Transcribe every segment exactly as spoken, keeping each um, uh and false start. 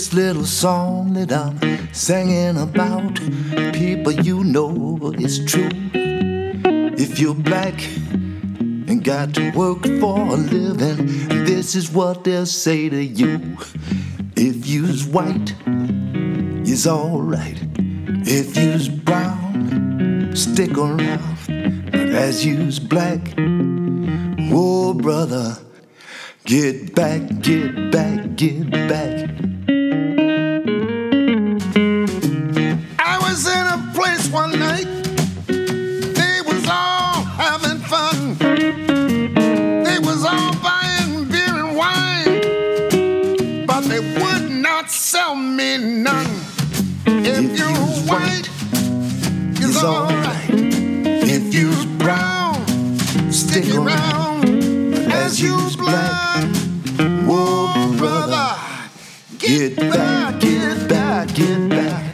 This little song that I'm singing about, people, you know it's true. If you're black and got to work for a living, this is what they'll say to you. If you's white, you's alright. If you's brown, stick around. But as you's black, oh brother, get back, get back, get back. I was in a place one night, they was all having fun. They was all buying beer and wine, but they would not sell me none. If, if you're white, it's alright. If you's brown, stick around. As you's black, whoa brother, get back, get back, get back.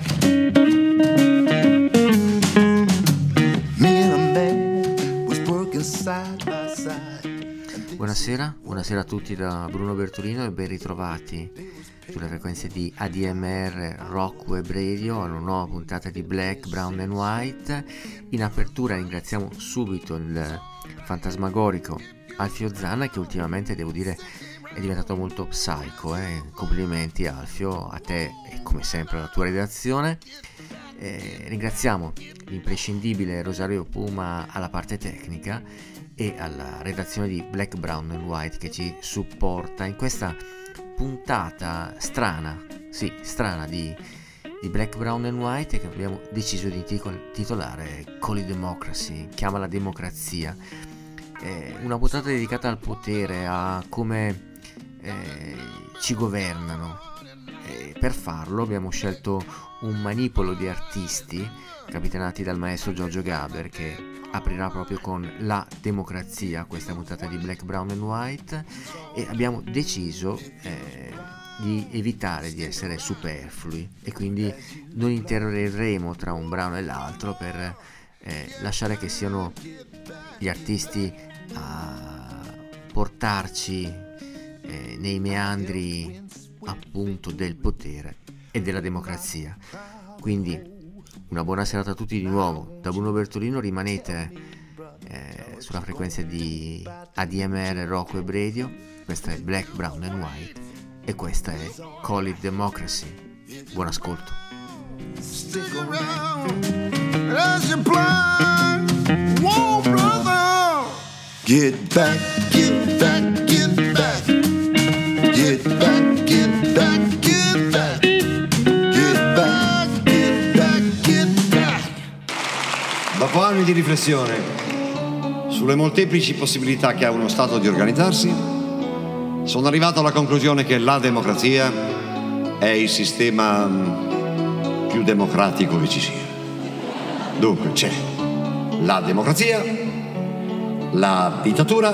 Me and a man was working side by side. Buonasera, buonasera a tutti da Bruno Bertolino e ben ritrovati sulle frequenze di A D M R Rock Web Radio alla nuova puntata di Black, Brown and White. In apertura ringraziamo subito il fantasmagorico Alfio Zanna, che ultimamente devo dire è diventato molto psycho, eh? Complimenti Alfio, a te e come sempre alla tua redazione. Eh, ringraziamo l'imprescindibile Rosario Puma alla parte tecnica e alla redazione di Black, Brown and White che ci supporta in questa puntata strana, sì, strana di, di Black, Brown and White, che abbiamo deciso di titolare Call it Democracy, chiama la democrazia. Eh, una puntata dedicata al potere, a come eh, ci governano. Eh, per farlo abbiamo scelto un manipolo di artisti capitanati dal maestro Giorgio Gaber, che aprirà proprio con la democrazia questa puntata di Black, Brown and White, e abbiamo deciso eh, di evitare di essere superflui e quindi non interrogheremo tra un brano e l'altro per eh, lasciare che siano gli artisti a portarci eh, nei meandri appunto del potere e della democrazia. Quindi una buona serata a tutti di nuovo da Bruno Bertolino. Rimanete eh, sulla frequenza di A D M R Rock Web Radio. Questa è Black, Brown and White e questa è Call it Democracy. Buon ascolto. Stick around as you blind, whoa brother, get back, get back, get back, get back, get back, get back, get back, get back, get back. Dopo anni di riflessione sulle molteplici possibilità che ha uno Stato di organizzarsi, sono arrivato alla conclusione che la democrazia è il sistema più democratico che ci sia. Dunque c'è la democrazia, la dittatura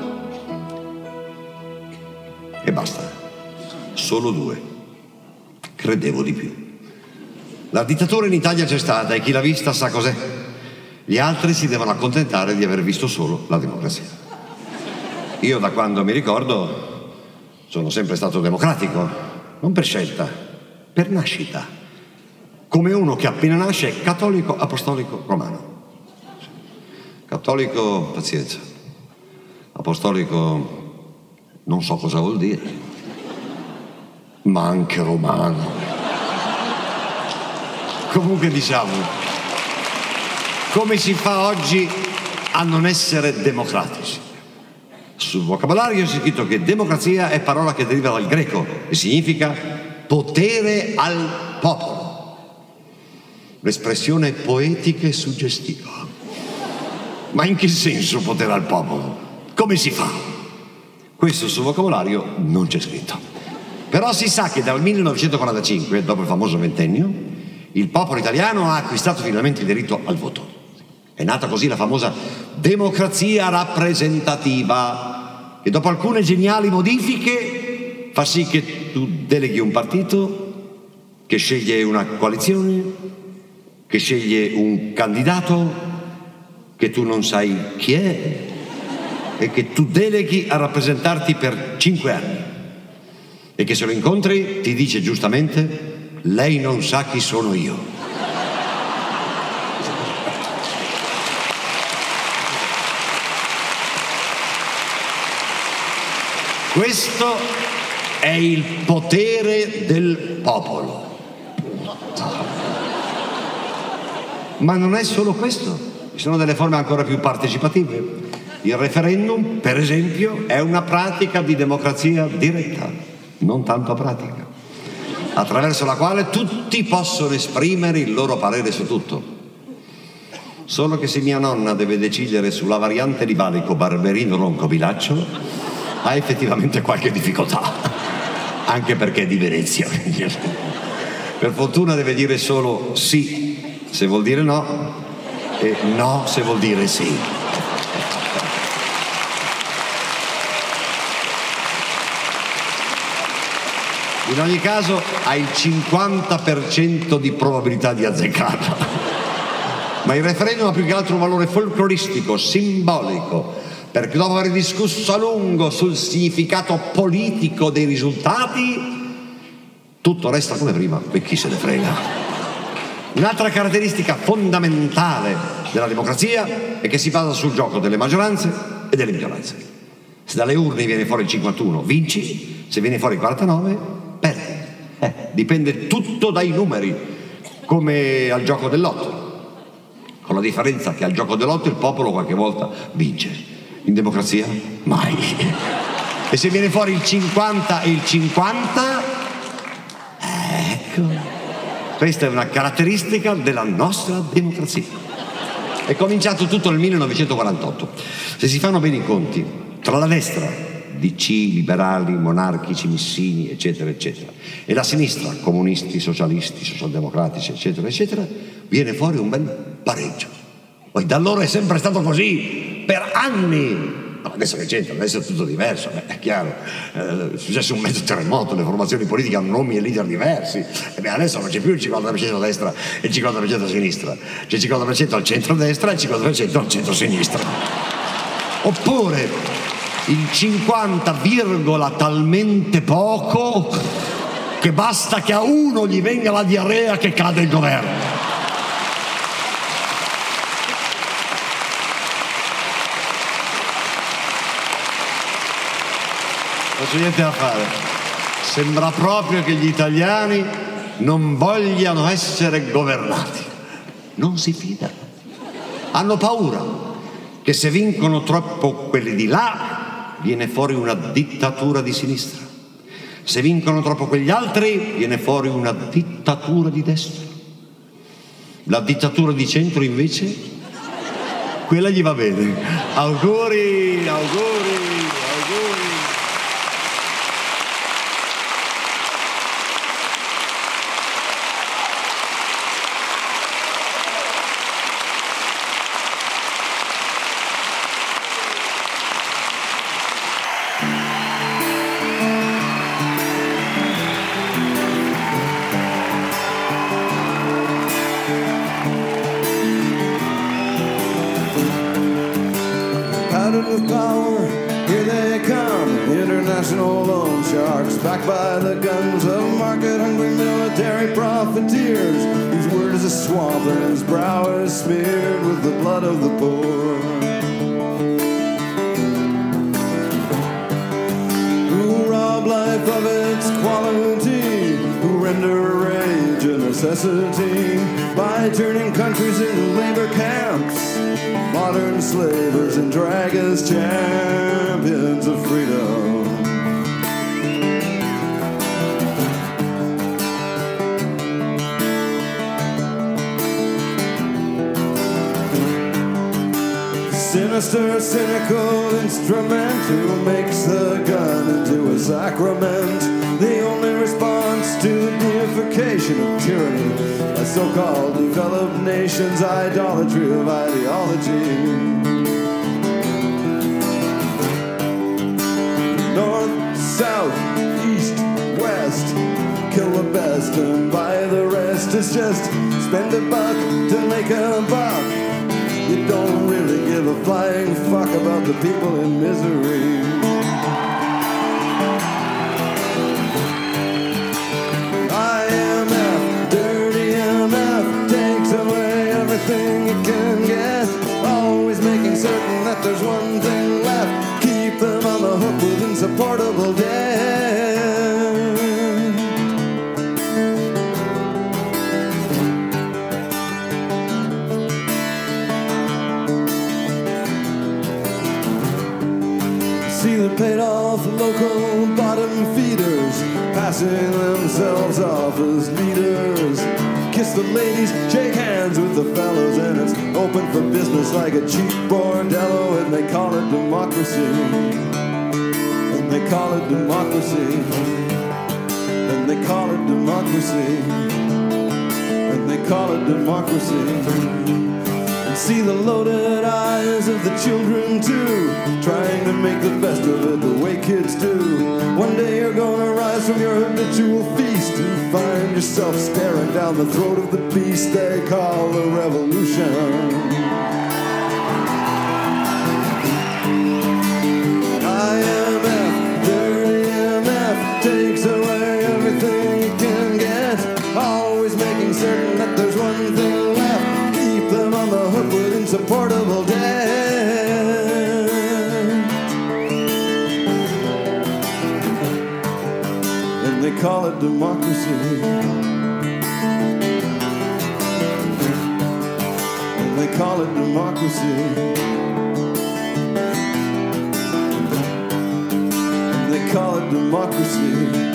e basta. Solo due. Credevo di più. La dittatura in Italia c'è stata e chi l'ha vista sa cos'è. Gli altri si devono accontentare di aver visto solo la democrazia. Io da quando mi ricordo sono sempre stato democratico, non per scelta, per nascita. Come uno che appena nasce è cattolico apostolico romano. Cattolico, pazienza. Apostolico, non so cosa vuol dire. Ma anche romano. Comunque diciamo, come si fa oggi a non essere democratici? Sul vocabolario c'è scritto che democrazia è parola che deriva dal greco e significa potere al popolo. L'espressione poetica e suggestiva. Ma in che senso potere al popolo? Come si fa? Questo sul vocabolario non c'è scritto. Però si sa che dal millenovecentoquarantacinque, dopo il famoso ventennio, il popolo italiano ha acquistato finalmente il diritto al voto. È nata così la famosa democrazia rappresentativa, che dopo alcune geniali modifiche fa sì che tu deleghi un partito che sceglie una coalizione, che sceglie un candidato che tu non sai chi è e che tu deleghi a rappresentarti per cinque anni. e che se lo incontri ti dice giustamente: lei non sa chi sono io. Questo è il potere del popolo. Ma non è solo questo, ci sono delle forme ancora più partecipative. Il referendum, per esempio, è una pratica di democrazia diretta, non tanto pratica, attraverso la quale tutti possono esprimere il loro parere su tutto. Solo che se mia nonna deve decidere sulla variante di valico Barberino Roncobilaccio, ha effettivamente qualche difficoltà, anche perché è di Venezia. Per fortuna deve dire solo sì se vuol dire no e no se vuol dire sì. In ogni caso ha il cinquanta per cento di probabilità di azzeccarla. Ma il referendum ha più che altro un valore folcloristico, simbolico, perché dopo aver discusso a lungo sul significato politico dei risultati, tutto resta come prima e chi se ne frega. Un'altra caratteristica fondamentale della democrazia è che si basa sul gioco delle maggioranze e delle minoranze. Se dalle urne viene fuori il cinquantuno, vinci; se viene fuori il quarantanove, perdi. Eh, dipende tutto dai numeri, come al gioco del lotto, con la differenza che al gioco del lotto il popolo qualche volta vince. In democrazia mai. E se viene fuori il cinquanta e il cinquanta, ecco, questa è una caratteristica della nostra democrazia. È cominciato tutto nel millenovecentoquarantotto. Se si fanno bene i conti tra la destra, D C, liberali, monarchici, missini, eccetera eccetera, e la sinistra, comunisti, socialisti, socialdemocratici, eccetera eccetera, viene fuori un bel pareggio. Poi da allora è sempre stato così per anni. Adesso che c'entra? Adesso è tutto diverso, beh, è chiaro. Eh, è successo un mezzo terremoto, le formazioni politiche hanno nomi e leader diversi. E beh, adesso non c'è più il cinquanta per cento a destra e il cinquanta per cento a sinistra, c'è il cinquanta per cento al centro-destra e il cinquanta per cento al centro-sinistra. Oppure il cinquanta virgola talmente poco che basta che a uno gli venga la diarrea che cade il governo. Non c'è niente da fare. Sembra proprio che gli italiani non vogliano essere governati. Non si fidano. Hanno paura che se vincono troppo quelli di là viene fuori una dittatura di sinistra. Se vincono troppo quegli altri viene fuori una dittatura di destra. La dittatura di centro invece, quella gli va bene. Auguri, auguri, auguri. Backed by the guns of market-hungry military profiteers, whose word is a swamp and his brow is smeared with the blood of the poor. Who rob life of its quality, who render rage a necessity, by turning countries into labor camps, modern slavers and drag as champions of freedom. Sinister, cynical instrument who makes the gun into a sacrament, the only response to the deification of tyranny, a so-called developed nation's idolatry of ideology. North, south, east, west, kill the best and buy the rest. It's just spend a buck to make a buck. You don't really give a flying fuck about the people in misery. that there's one thing left, keep them on the hook with insupportable debt. See the paid off local bottom feeders passing themselves off as leaders. Kiss the ladies, shake hands with the fellows, and it's open for business like a cheap bordello, and they call it democracy. And they call it democracy. And they call it democracy. And they call it democracy. See the loaded eyes of the children too, trying to make the best of it the way kids do. One day you're gonna rise from your habitual feast and find yourself staring down the throat of the beast they call the revolution. I M F, dirty M F, takes away everything you can get, always making certain that there's one thing left, keep them on the hook with insupportable debt. And they call it democracy. And they call it democracy. And they call it democracy.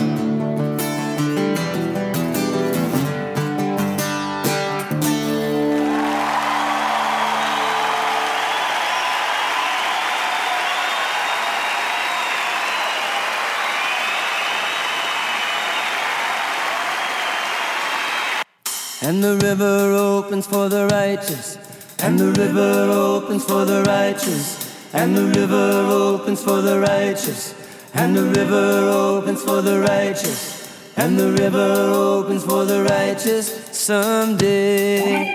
And the river opens for the righteous, and the river opens for the righteous, and the river opens for the righteous, and the river opens for the righteous, and the river opens for the righteous someday.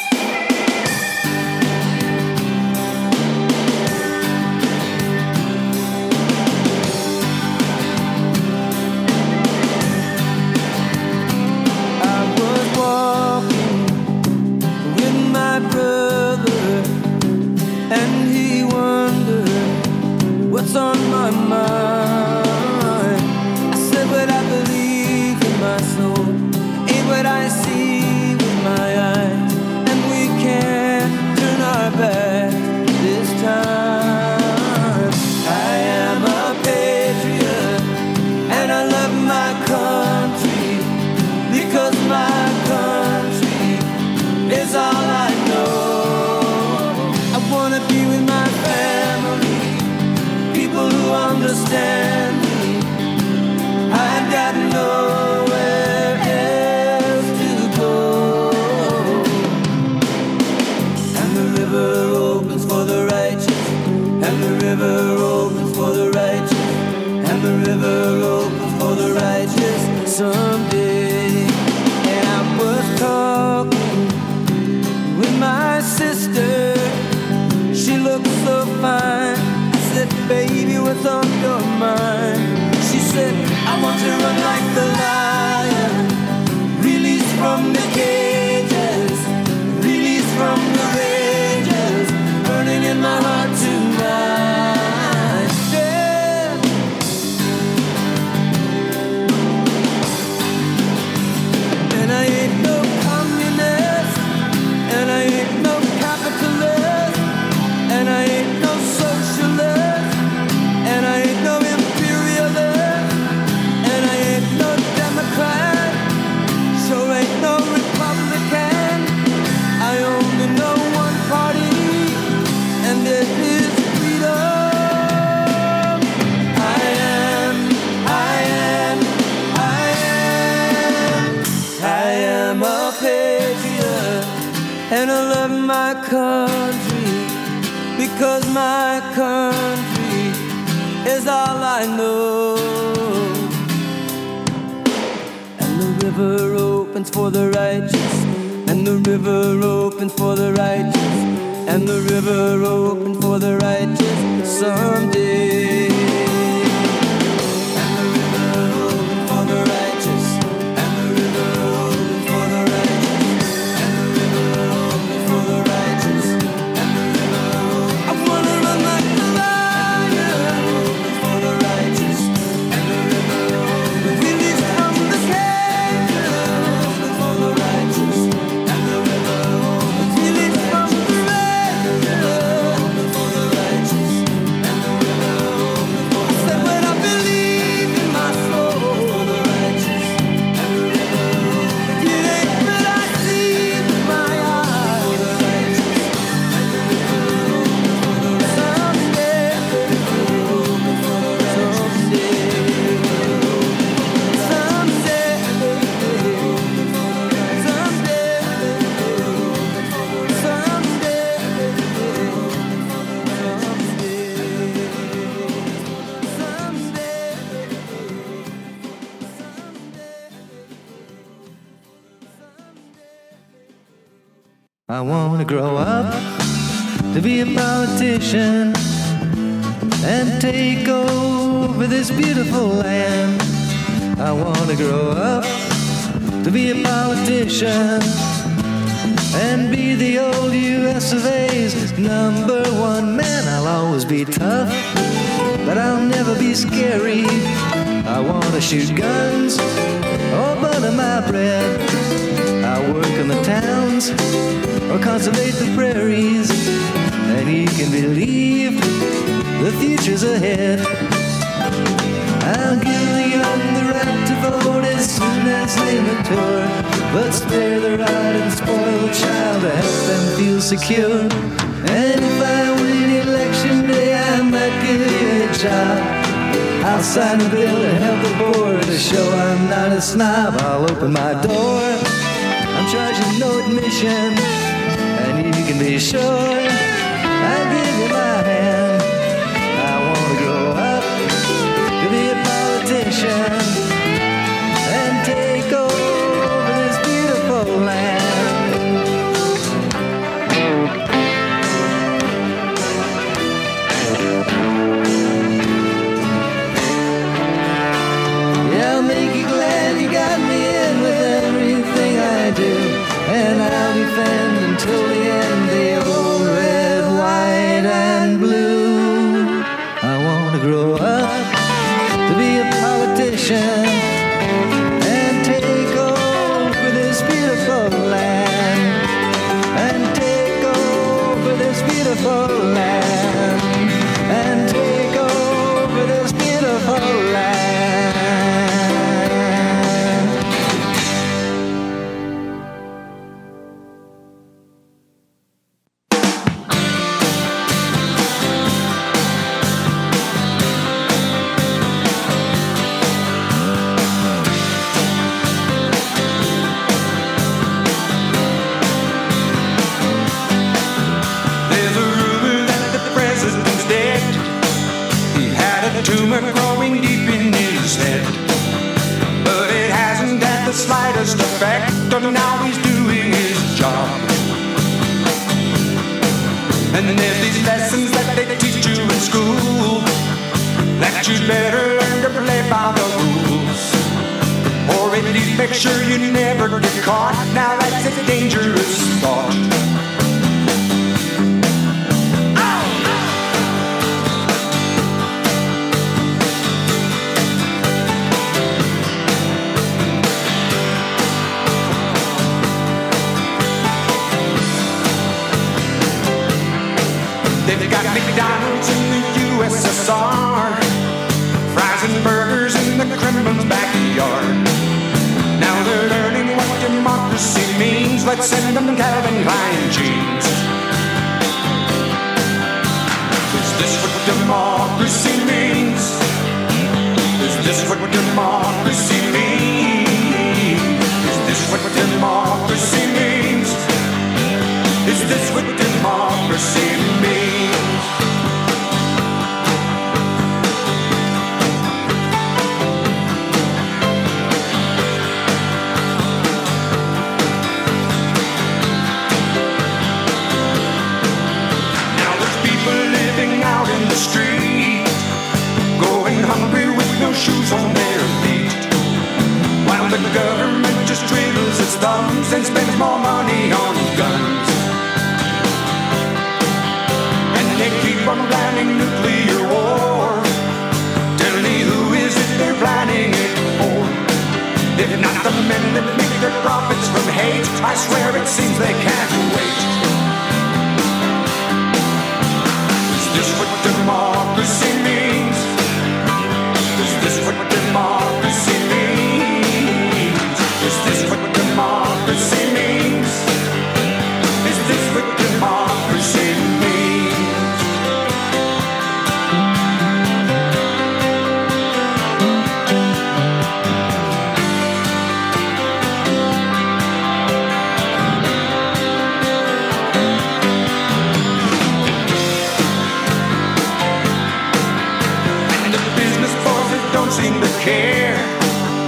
What's on my mind? I said what I believe in my soul, ain't what I see with my eyes, and we can't turn our back this time. I am a patriot, and I love my country, because my country is all I know. I wanna be with my family, who understand me. I've got nowhere else to go. And the river opens for the righteous, and the river opens for the righteous, and the river opens for the righteous someday. And I was talking with my sister, she looked so fine. I said, baby, what's on your mind? She said, I want to run like the lion, released from the cages, released from the rages, burning in my heart tonight. Yeah. And I ain't no communist, and I ain't no capitalist, and I ain't no socialist, and I ain't no imperialist, and I ain't no Democrat, sure ain't no Republican. I only know one party, and it is freedom. I am, I am, I am, I am a patriot, and I love my country, because my country is all I know. And the river opens for the righteous, and the river opens for the righteous, and the river opens for the righteous someday. And the river opens for the righteous, and the river opens for the righteous, and the river opens for the righteous, and the river opens. I wanna run I wanna grow up to be a politician and take over this beautiful land. I wanna grow up to be a politician and be the old U S of A's number one man. I'll always be tough, but I'll never be scary. I wanna shoot guns or butter my bread. I'll work in the towns or conservate the prairies, and you can believe the future's ahead. I'll give the young the right to vote as soon as they mature, but spare the right and spoil the child to help them feel secure. And if I win election day, I might give you a job. I'll sign a bill to help the poor to show I'm not a snob. I'll open my door, I'm charging no admission, and you can be sure I'll give you my hand. I wanna grow up to be a politician and take over this beautiful land. Yeah, I'll make you glad you got me in with everything I do, and I'll defend until the end the old red, white, and blue. I wanna grow up to be a politician and take over this beautiful land, and take over this beautiful land, and take over this beautiful land. There's a rumor that the president's dead. He had a tumor growing deep in his head, but it hasn't had the slightest effect on how he's doing his job. And then there's these lessons that they teach you in school, that you better learn to play by the rules, or at least make sure you never get caught. Now that's a dangerous thought. They've got McDonald's in the U S S R, fries and burgers in the Kremlin's backyard. Now they're learning what democracy means. Let's send them Calvin Klein jeans. Is this what democracy means? Is this what democracy means? Is this what democracy means? Is this what democracy means? Now there's people living out in the street, going hungry with no shoes on their feet, while the government just twiddles its thumbs and spends more money on guns. They keep on planning nuclear war. Tell me, who is it they're planning it for? If not the men that make their profits from hate, I swear it seems they can't wait. Is this what democracy means? Is this what democracy means? Is this what democracy means? Is this what democracy means? Seem to care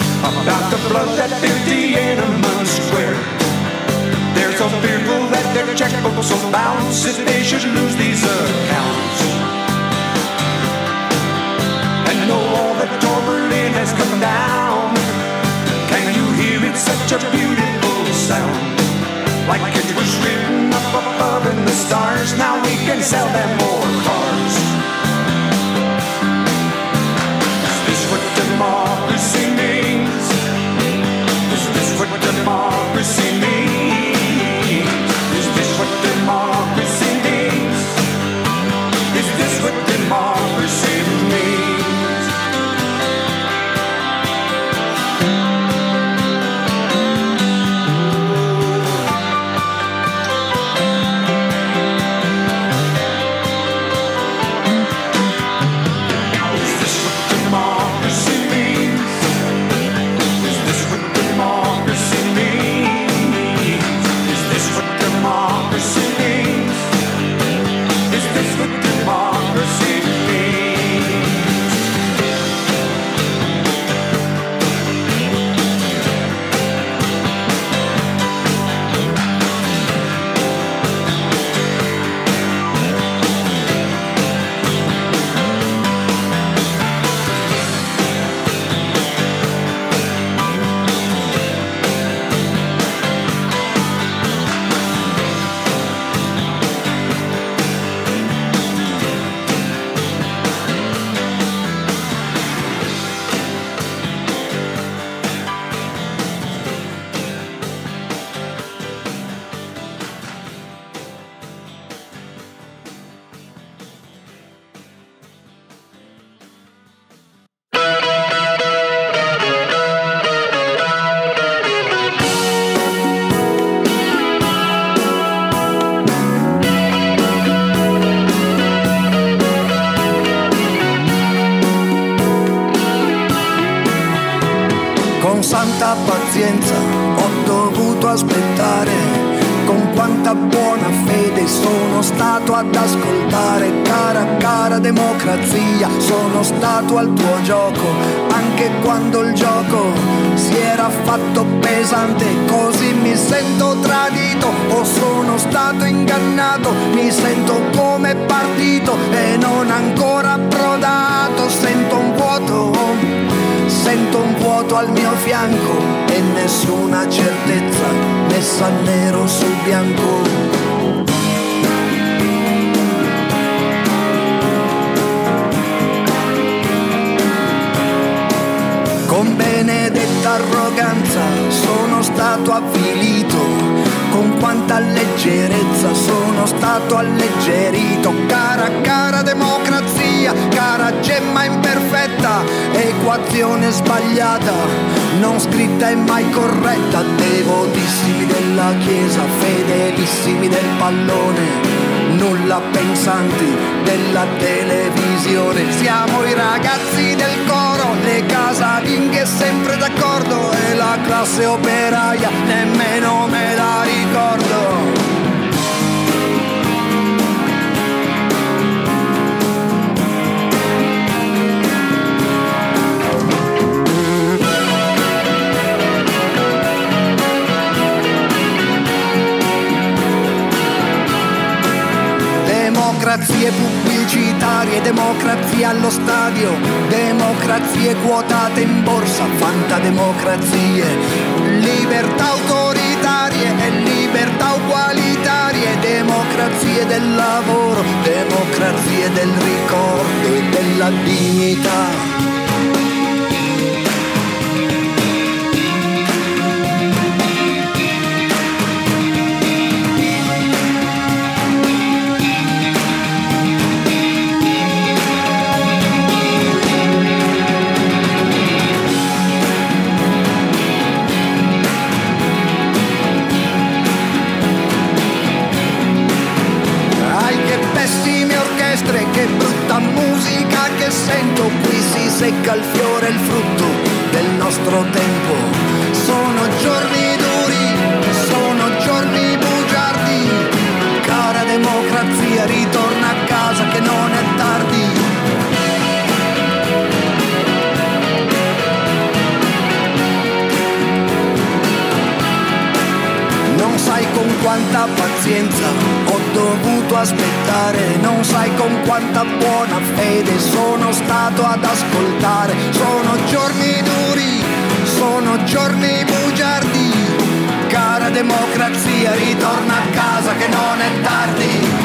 about the blood that filled Tiananmen Square. They're so fearful that their their checkbooks will bounce if they should lose these accounts. And though all the torbellino has come down, can you hear it? Such a beautiful sound, like it was written up above in the stars. Now we can sell them more cars. Is this what democracy means? Is this what democracy means? Is this what democracy means? Is this what democracy means? Santa pazienza ho dovuto aspettare, con quanta buona fede sono stato ad ascoltare. Cara, cara democrazia, sono stato al tuo gioco, anche quando il gioco si era fatto pesante. Così mi sento tradito, o sono stato ingannato, mi sento come partito e non ancora approdato. Sento un vuoto, sento un vuoto al mio fianco e nessuna certezza messa nero su bianco. Con benedetta arroganza sono stato avvilito, con quanta leggerezza sono stato alleggerito. Cara, cara democrazia, cara gemma imperfetta, equazione sbagliata, non scritta e mai corretta. Devotissimi della Chiesa, fedelissimi del pallone, nulla pensanti della televisione. Siamo i ragazzi del coro, le casalinghe sempre d'accordo, e la classe operaia nemmeno me la ricordo. Democrazie pubblicitarie, democrazia allo stadio, democrazie quotate in borsa, fantademocrazie, libertà autoritarie e libertà ugualitarie, democrazie del lavoro, democrazie del ricordo e della dignità. Che brutta musica che sento, qui si secca il fiore, il frutto del nostro tempo. Sono giorni duri, sono giorni bugiardi. Cara democrazia, ritorna a casa che non è tardi. Non sai con quanta pazienza aspettare, non sai con quanta buona fede sono stato ad ascoltare. Sono giorni duri, sono giorni bugiardi, cara democrazia, ritorna a casa che non è tardi.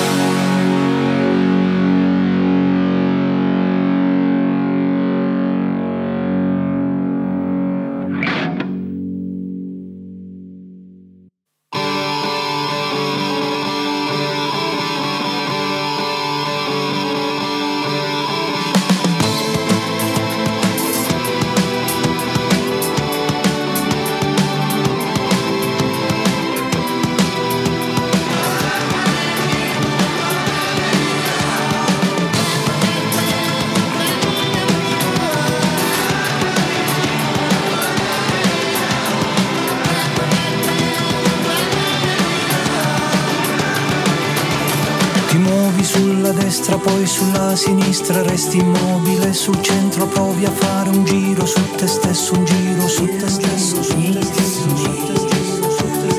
Poi sulla sinistra resti immobile, sul centro provi a fare un giro su te stesso, un giro su te stesso, su te stesso, su te stesso, su te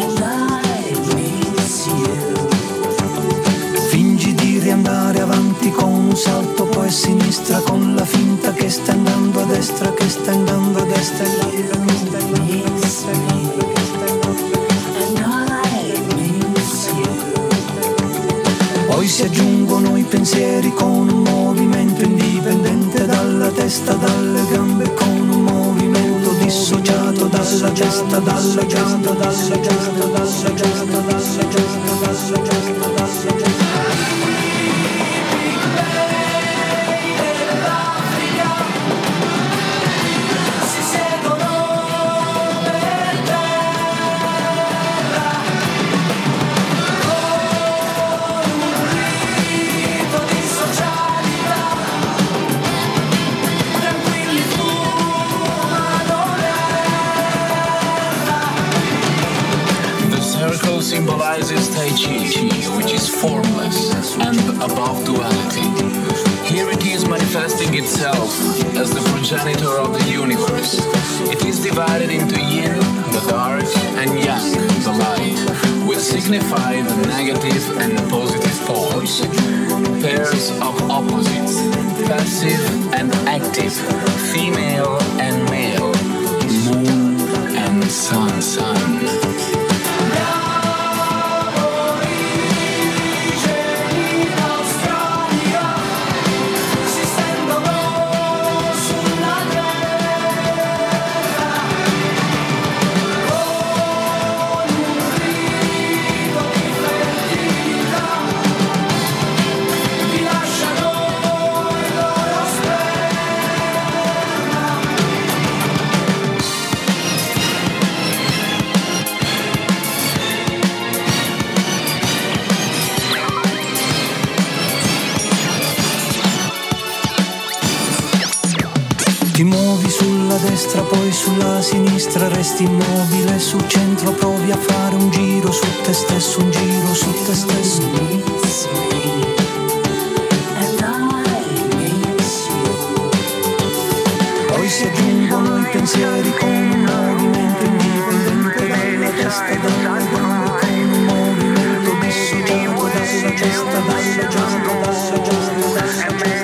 stesso. Fingi di riandare avanti con un salto, poi a sinistra con la finta che stai andando a destra, che stai andando a destra, che stai andando a destra, che stai andando a destra. Poi si aggiungono i pensieri con un movimento indipendente dalla testa, dalle gambe, con un movimento dissociato dalla testa, dalla testa, dalla testa, dalla testa, dalla testa, dalla testa, dalla testa. Symbolizes Tai Chi, which is formless and above duality. Here it is manifesting itself as the progenitor of the universe. It is divided into yin, the dark, and yang, the light, which signify the negative and positive poles, pairs of opposites, passive and active, female and male, moon and sun, sun. Ti muovi sulla destra, poi sulla sinistra, resti immobile, sul centro provi a fare un giro su te stesso, un giro su te stesso. Poi si aggiungono i pensieri con un movimento indipendente dalla testa, dalla gambe, con un movimento dissociato dalla testa, dalla giasta, dalla giasta, dalla giasta.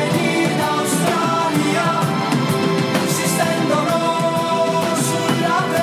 Sulla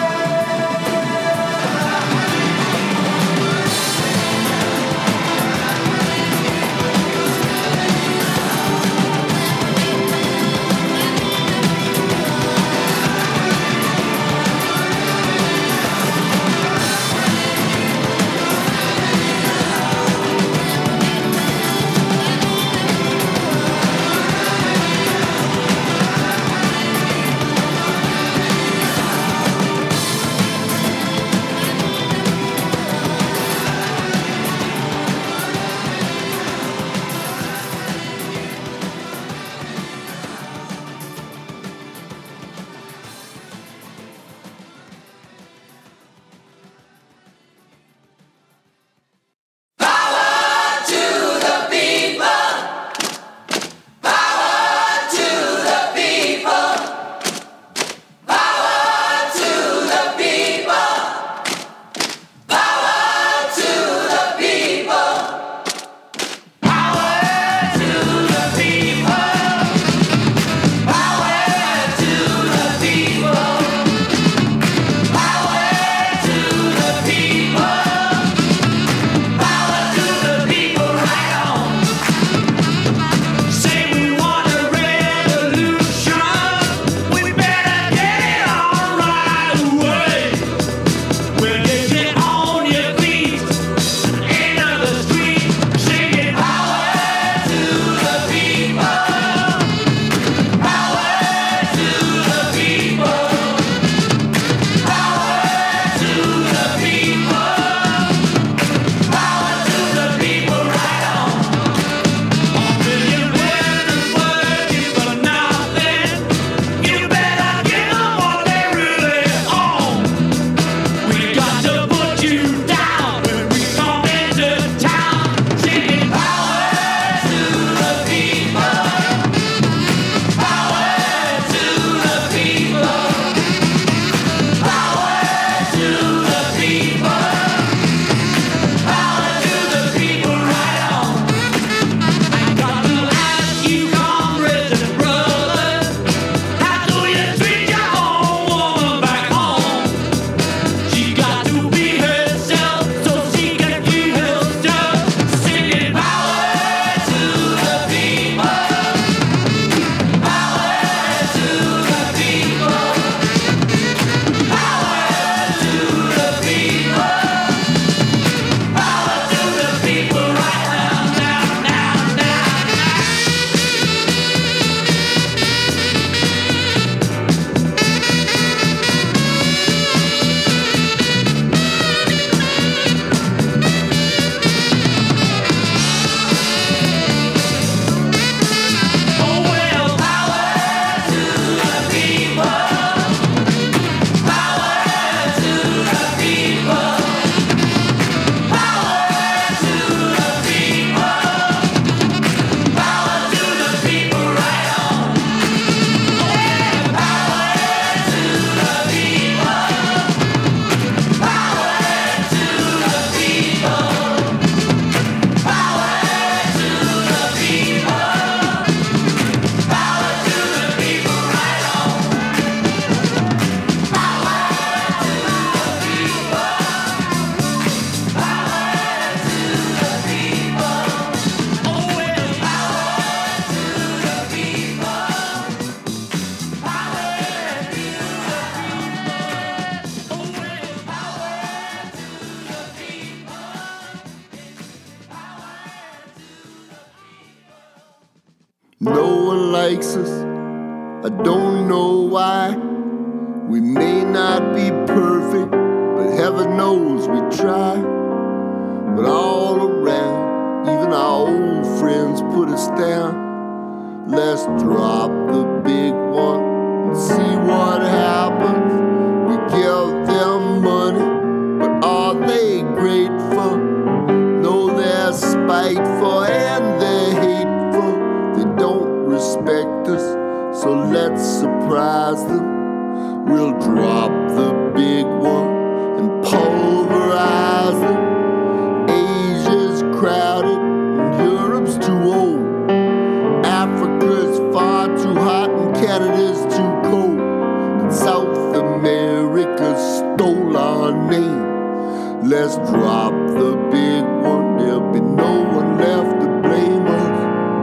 likes us. I don't know why. We may not be perfect, but heaven knows we try. But all around, even our old friends put us down. Let's drop the big one and see what happens. We give them money, but are they grateful? No, they're spiteful and they're hateful. They don't respect us, so let's surprise them. We'll drop the big one and pulverize them. Asia's crowded and Europe's too old. Africa's far too hot and Canada's too cold. And South America stole our name. Let's drop the big one, there'll be no one left to blame us.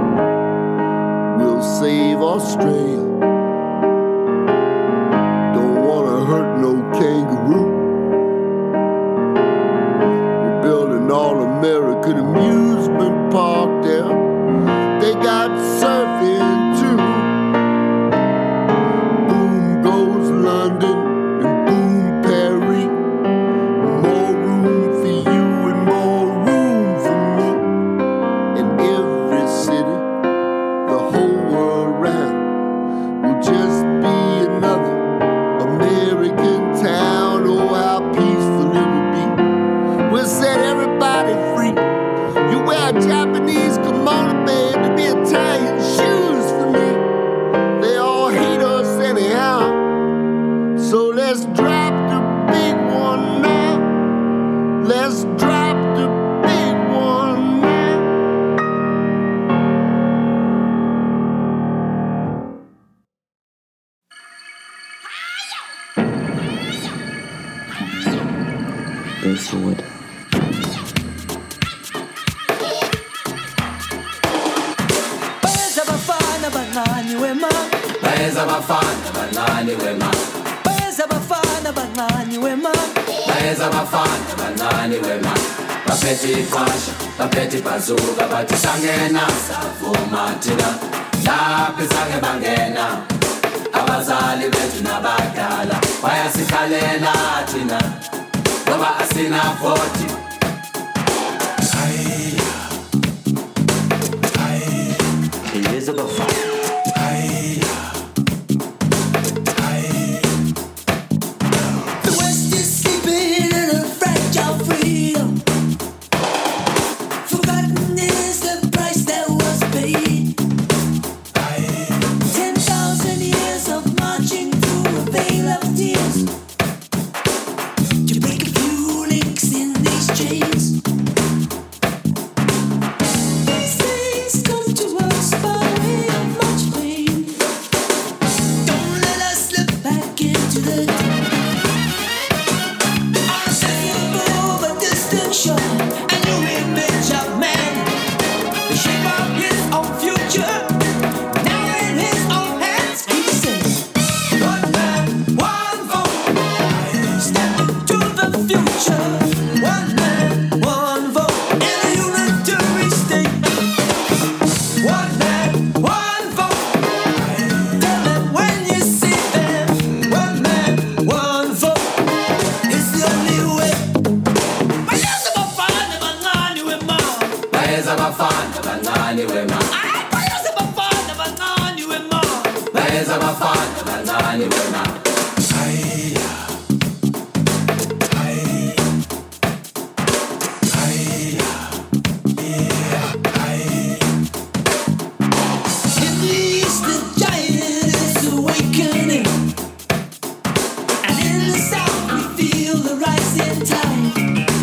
We'll save Australia. Don't wanna hurt no kangaroo. We're building all-American amusement park there. They got surfing too. Boom goes London and boom Paris. More room for you and more room for me. In every city, the whole world round will just be another American town. Oh, how peaceful it will be. We'll set everybody free. You wear a Japanese kimono, babe, to be Italian shoes for me. They all hate us anyhow. So let's drop the big one now. Let's drop the big one now. Basswood. Bayeza bafana bancane wema. Bayeza bafana bancane wema. Bayeza bafana bancane wema. Bayeza bafana bancane wema. Baphethe iqasha, baphethe ibhazuka, bathi sangena savuma thina. Lapho sange bangena abazali bethu nabadala bayasikhalela thina ngoba asina voti. Bayeza bafana. The West is sleeping in a fragile freedom. Forgotten is the price that was paid. Ten thousand years of marching through a veil of tears to break a few links in these chains. These things come to us by way of much pain. Don't let us slip back into the unacceptable but distant shore. A new image of man, the shape of his own future. Now in his own hands, he says, one man, one vote. Step into the future. One man, one vote. In a unitary state. One man, one vote. Tell them when you see them. One man, one vote. It's the only way. Bayeza bafana bancane wema. Bayeza bafana bancane wema. Ay, bayeza bafana bancane wema. Bayeza bafana bancane wema. In the east, the giant is awakening, and in the south, we feel the rising tide.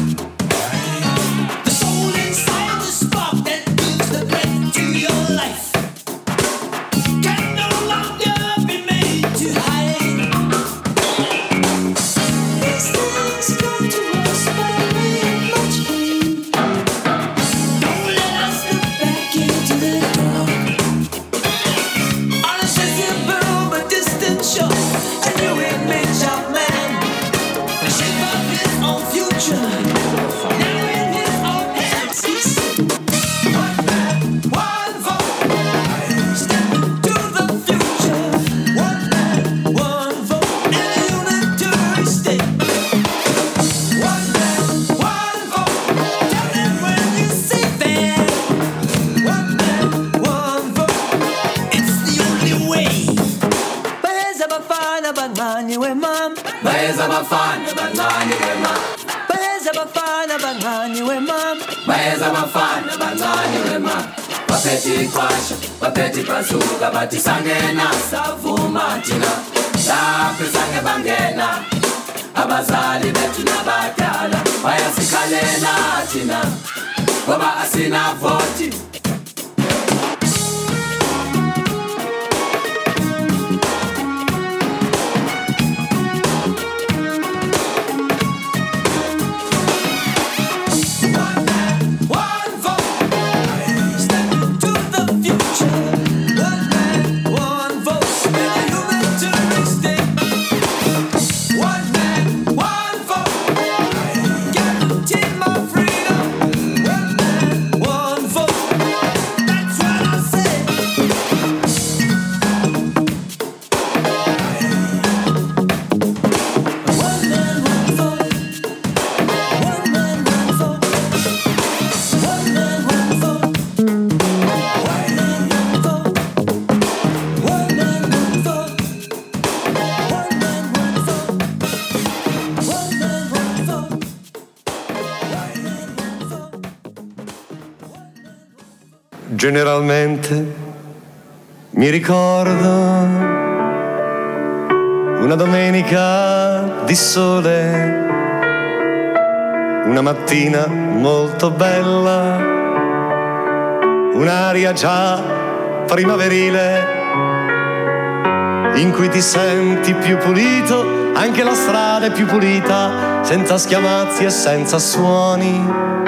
The soul inside the spark that gives the breath to your life can no longer be made to hide. These things come to us by way of much pain. Don't let us look back into the dark. Unaccessible but distant shore, a new image of man, the shape of his own future. Now in his own hands, he said, one man, one vote. Step into bafana bancane wema bayeza bafana bancane wema bayeza bafana bancane wema baphethe iqhasha baphethe ibhazuka bathi sangena savuma thina lapho sange bangena abazali bethu nabadala bayasikhalela thina ngoba asina voti. Generalmente mi ricordo una domenica di sole, una mattina molto bella, un'aria già primaverile in cui ti senti più pulito, anche la strada è più pulita, senza schiamazzi e senza suoni.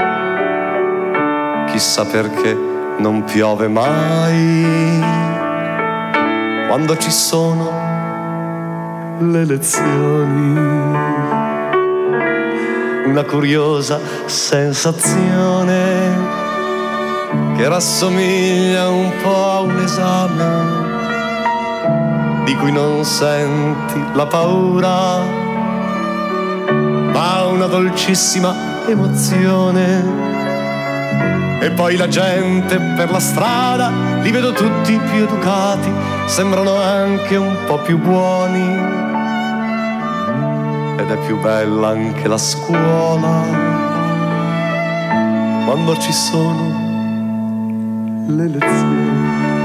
Chissà perché non piove mai quando ci sono le lezioni. Una curiosa sensazione che rassomiglia un po' a un esame di cui non senti la paura, ma una dolcissima emozione. E poi la gente per la strada, li vedo tutti più educati, sembrano anche un po' più buoni. Ed è più bella anche la scuola quando ci sono le lezioni.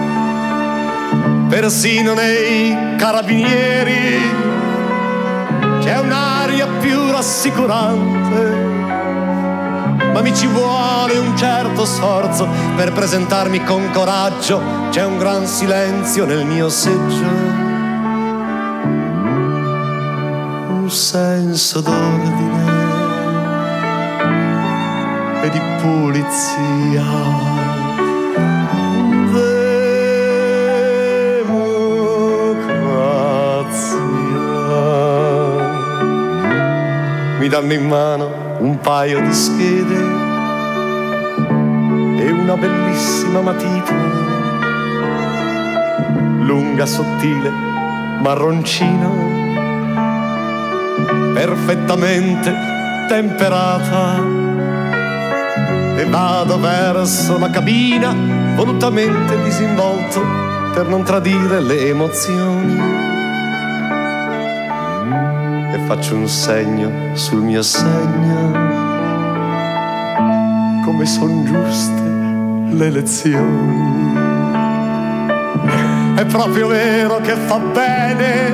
Persino nei carabinieri c'è un'aria più rassicurante, ma mi ci vuole un certo sforzo per presentarmi con coraggio. C'è un gran silenzio nel mio seggio, un senso d'ordine e di pulizia. Democrazia. Mi danno in mano un paio di schede e una bellissima matita, lunga, sottile, marroncina, perfettamente temperata. E vado verso la cabina, volutamente disinvolto per non tradire le emozioni. E faccio un segno sul mio segno, come son giuste le lezioni. È proprio vero che fa bene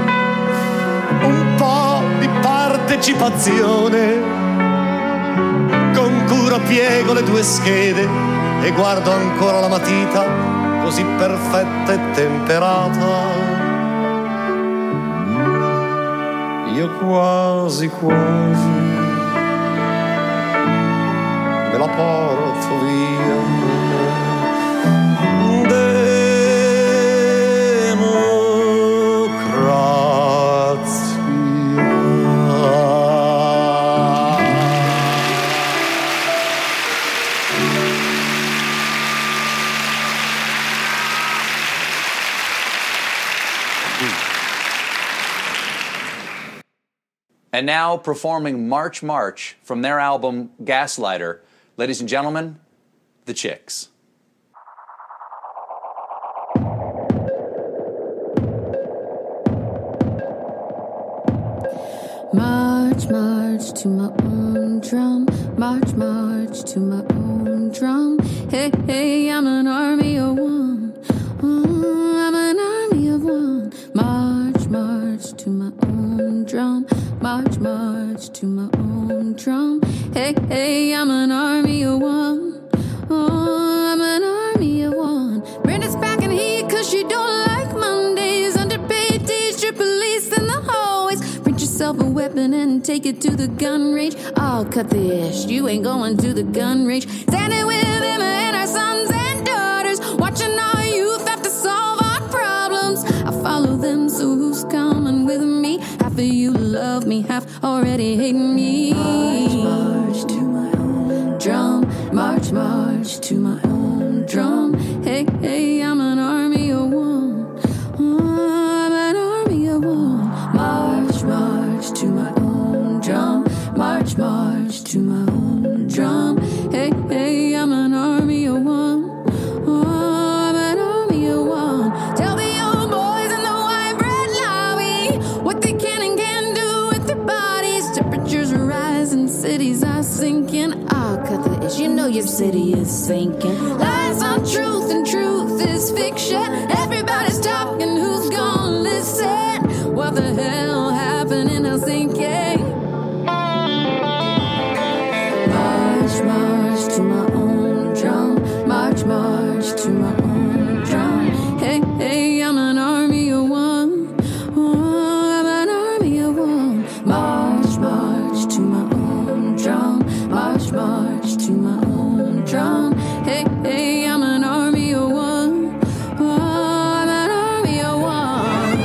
un po' di partecipazione. Con cura piego le due schede e guardo ancora la matita così perfetta e temperata. Io quasi quasi me la porto via. And now performing March March from their album Gaslighter, ladies and gentlemen, The Chicks. My march to my own drum. March, march to my own drum. Hey, hey, I'm an army of one. Oh, I'm an army of one. March, march to my own drum. March, march to my own drum. Hey, hey, I'm an army of one. Oh, I'm an army of one. Brenda's back in here cause she don't like Mondays. Underpaid teacher, police in the hallways. Print yourself a weapon and take it to the gun range. I'll cut the ish, you ain't going to the gun range. Standing with them and our sons and daughters. Watching our youth have to solve our problems. I follow them, so who's coming with me? Half of you love me, half already hate me. March, march to my own drum. March, march to my own drum. Hey, hey, I'm an army of one. Oh, I'm an army of one. March, march to my own drum. March, march to my own drum. Hey, hey, I'm an army of one. Oh, I'm an army of one. Tell the old boys in the white bread lobby what they can and can't do with their bodies. Temperatures are rising, cities are sinking. I'll cut the ish, you know your city is sinking. Lies are truth and truth is fiction. Everybody's talking, who's gonna listen? What the hell happened in Helsinki? March, march to my own drum. March, march to my own drum. Hey, hey, I'm an army of one. Oh, I'm an army of one. March, march to my own drum. March, march to my own drum. Hey, hey, I'm an army of one. Oh, I'm an army of one.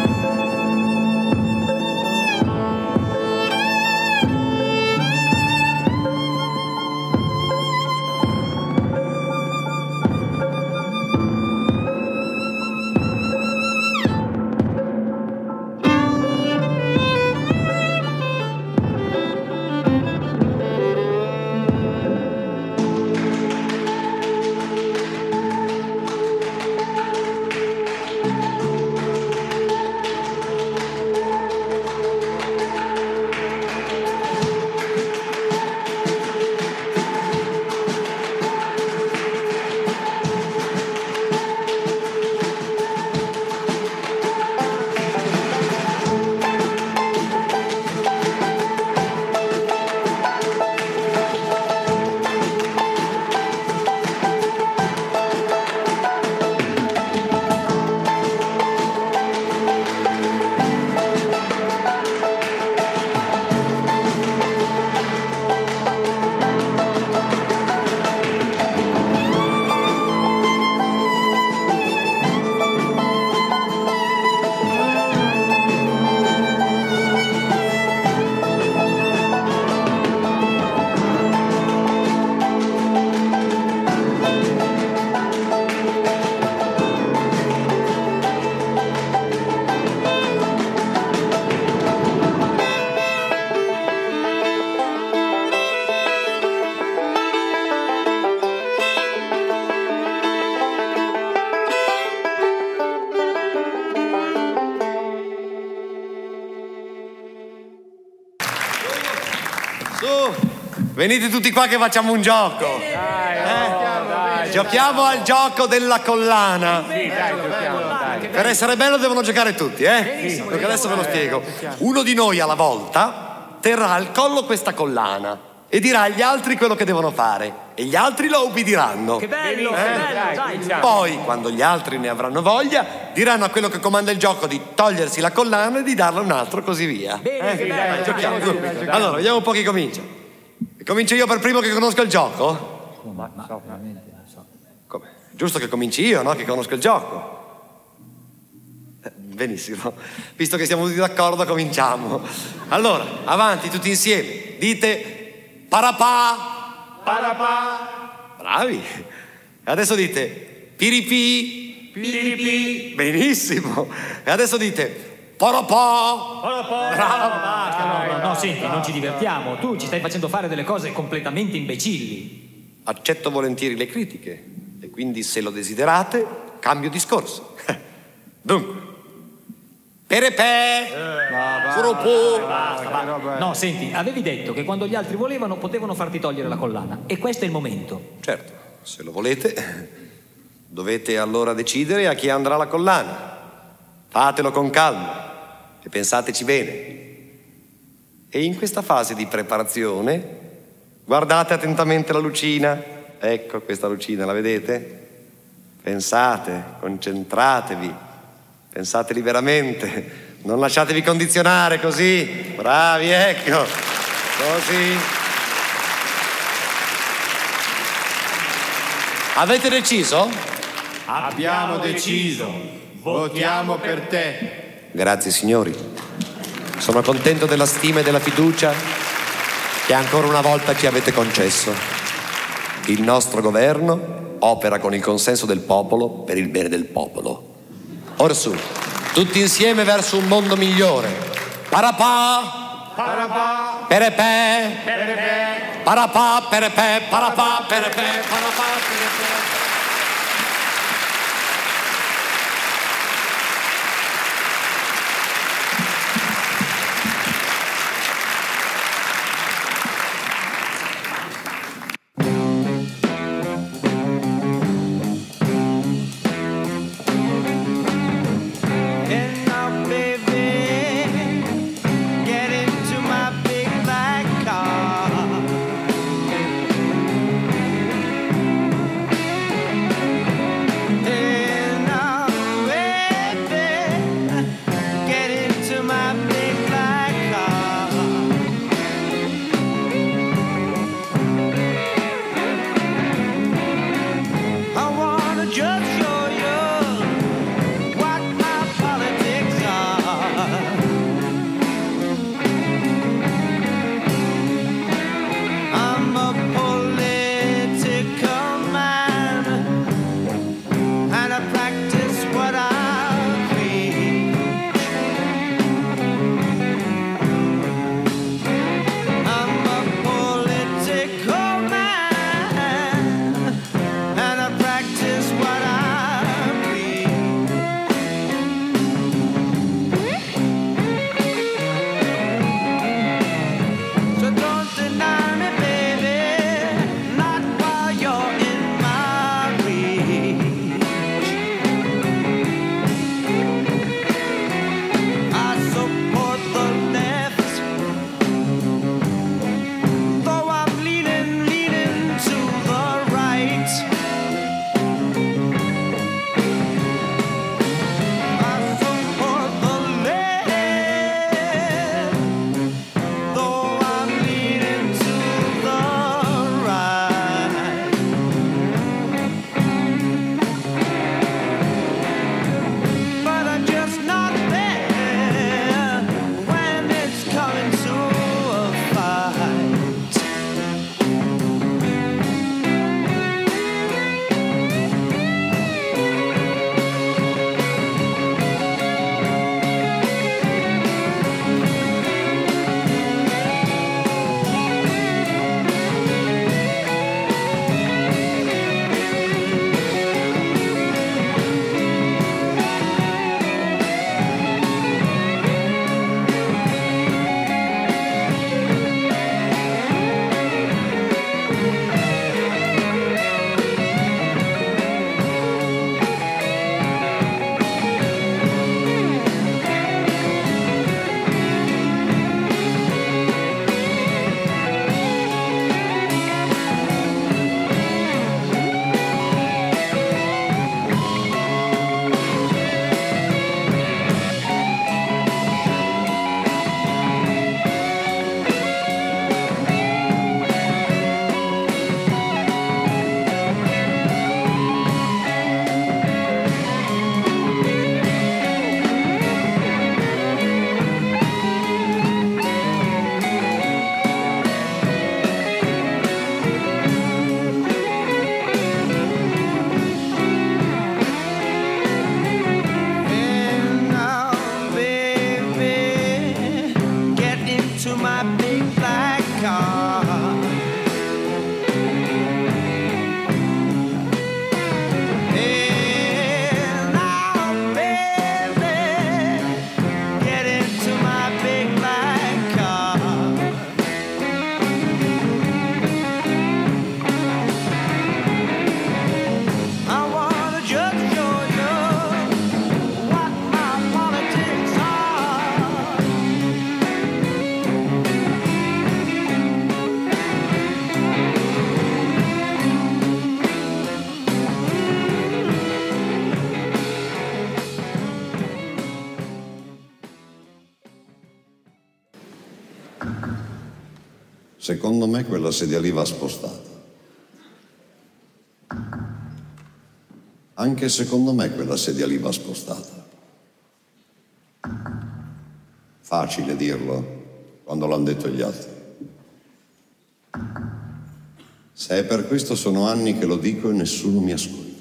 Venite tutti qua che facciamo un gioco. Eh? Giochiamo al gioco della collana. Per essere bello devono giocare tutti, eh? Perché adesso ve lo spiego. Uno di noi alla volta terrà al collo questa collana e dirà agli altri quello che devono fare. E gli altri lo obbediranno. Che bello, eh? che bello, dai. Poi, quando gli altri ne avranno voglia, diranno a quello che comanda il gioco di togliersi la collana e di darla a un altro, così via. Bene, eh? che bello, dai, giochiamo. Bene, bene, allora, vediamo un po' chi comincia. Comincio io per primo che conosco il gioco? Ma, ma, so, veramente, so. Come? Giusto che cominci io, no? Che conosco il gioco. Eh, benissimo. Visto che siamo tutti d'accordo, cominciamo. Allora, avanti tutti insieme. Dite parapà. Parapà. Bravi. E adesso dite piripì. Piripì. Benissimo. E adesso dite Poropò! Poropò! Bravo! Basta, no, no, no, senti, non ci divertiamo. Tu ci stai facendo fare delle cose completamente imbecilli. Accetto volentieri le critiche e quindi, se lo desiderate, cambio discorso. Dunque, Perepè, Furopù. No, senti, avevi detto che quando gli altri volevano potevano farti togliere la collana. E questo è il momento. Certo, se lo volete, dovete allora decidere a chi andrà la collana. Fatelo con calma e pensateci bene. E in questa fase di preparazione guardate attentamente la lucina. Ecco questa lucina, la vedete? Pensate, concentratevi, pensate liberamente, non lasciatevi condizionare così. Bravi, ecco, così. Avete deciso? Abbiamo deciso, votiamo per te. Grazie signori, sono contento della stima e della fiducia che ancora una volta ci avete concesso. Il nostro governo opera con il consenso del popolo per il bene del popolo. Orsù, tutti insieme verso un mondo migliore. Parapà, Parapà, perepè, perepè, parapà, perepè, parapà, perepè, parapà, perepè. Secondo me quella sedia lì va spostata. Anche secondo me quella sedia lì va spostata. Facile dirlo quando l'hanno detto gli altri. Se è per questo sono anni che lo dico e nessuno mi ascolta.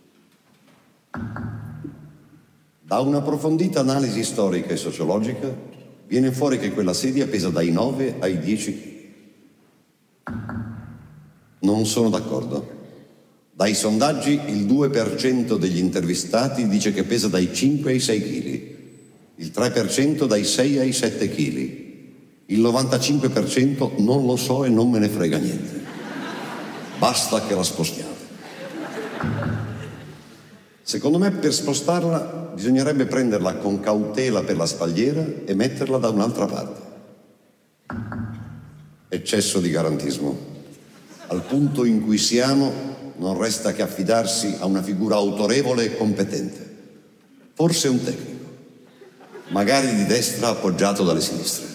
Da un'approfondita analisi storica e sociologica viene fuori che quella sedia pesa dai nove ai dieci chili. Non sono d'accordo. Dai sondaggi il due per cento degli intervistati dice che pesa dai cinque ai sei chili, il tre per cento dai sei ai sette chili, il novantacinque per cento non lo so e non me ne frega niente. Basta che la spostiate. Secondo me per spostarla bisognerebbe prenderla con cautela per la spalliera e metterla da un'altra parte. Eccesso di garantismo. Al punto in cui siamo non resta che affidarsi a una figura autorevole e competente. Forse un tecnico, magari di destra appoggiato dalle sinistre.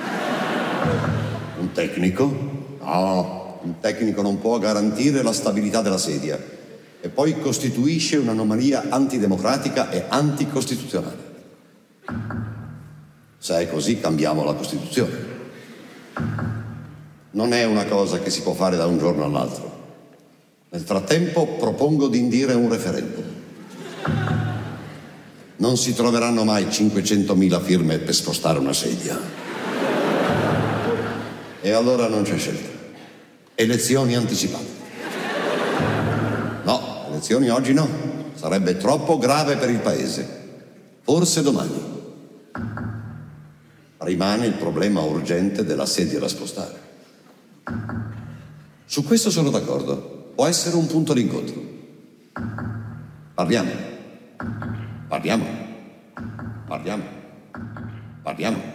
Un tecnico? No, un tecnico non può garantire la stabilità della sedia e poi costituisce un'anomalia antidemocratica e anticostituzionale. Se è così, cambiamo la Costituzione. Non è una cosa che si può fare da un giorno all'altro. Nel frattempo propongo di indire un referendum. Non si troveranno mai cinquecentomila firme per spostare una sedia. E allora non c'è scelta. Elezioni anticipate. No, elezioni oggi no. Sarebbe troppo grave per il paese. Forse domani. Rimane il problema urgente della sedia da spostare. Su questo sono d'accordo. Può essere un punto d'incontro. Parliamo. Parliamo. Parliamo. Parliamo.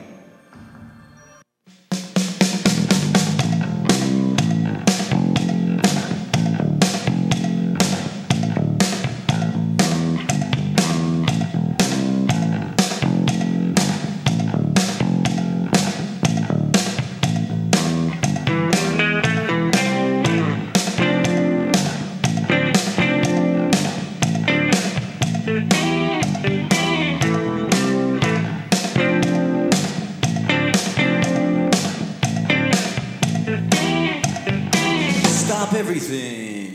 Everything.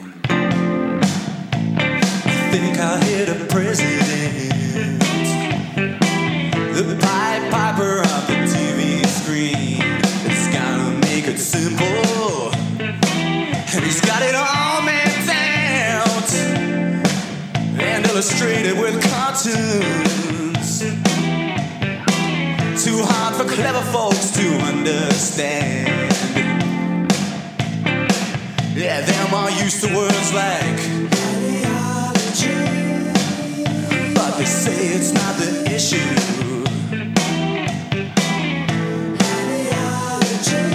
I think I hit a president, the Pied Piper of the T V screen. It's gotta make it simple, and he's got it all mapped out and illustrated with cartoons. Too hard for clever folks to understand. Yeah, them are used to words like ideology, but they say it's not the issue. Ideology.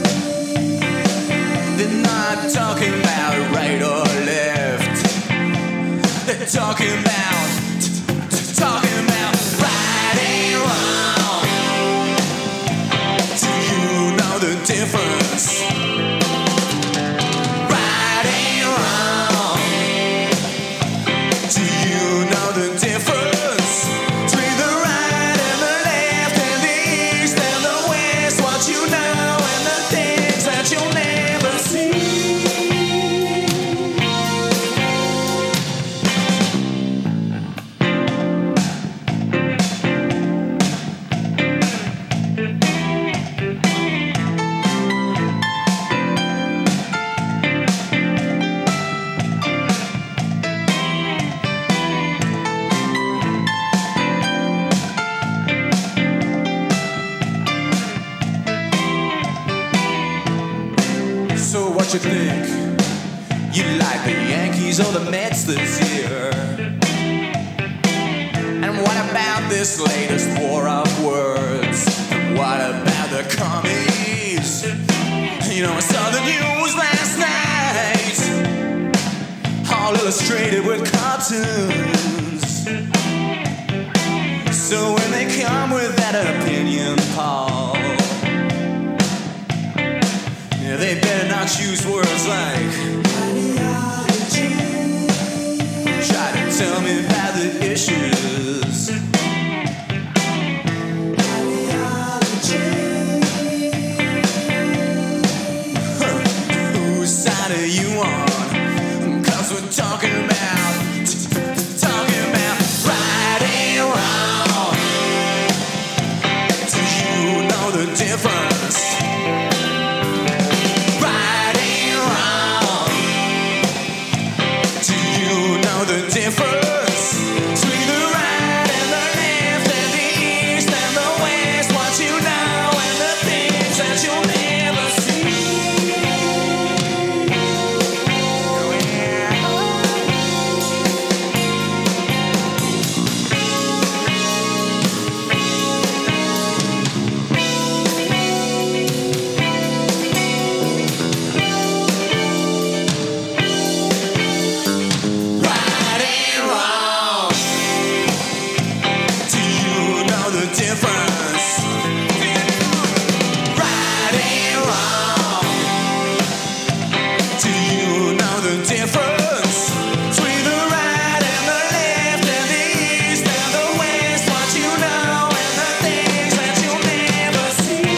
They're not talking about right or left. They're talking about, t- talking about right and wrong. Do you know the difference? What you think? You like the Yankees or the Mets this year? And what about this latest war of words? And what about the commies? You know, I saw the news last night, all illustrated with cartoons. So when they come with that opinion, Paul, Yeah, they better not choose words like ideology. Try to tell me about the issues. Ideology. Huh. Whose side are you on? 'Cause we're talking about, talking about right and wrong. Do you know the difference? Right and wrong. Do you know the difference between the right and the left and the east and the west? What you know and the things that you'll never see. Right and wrong. Do you know the difference? Right and wrong. Do you know the difference between the right and the left and the east and the west? What you know and the things that you'll never see.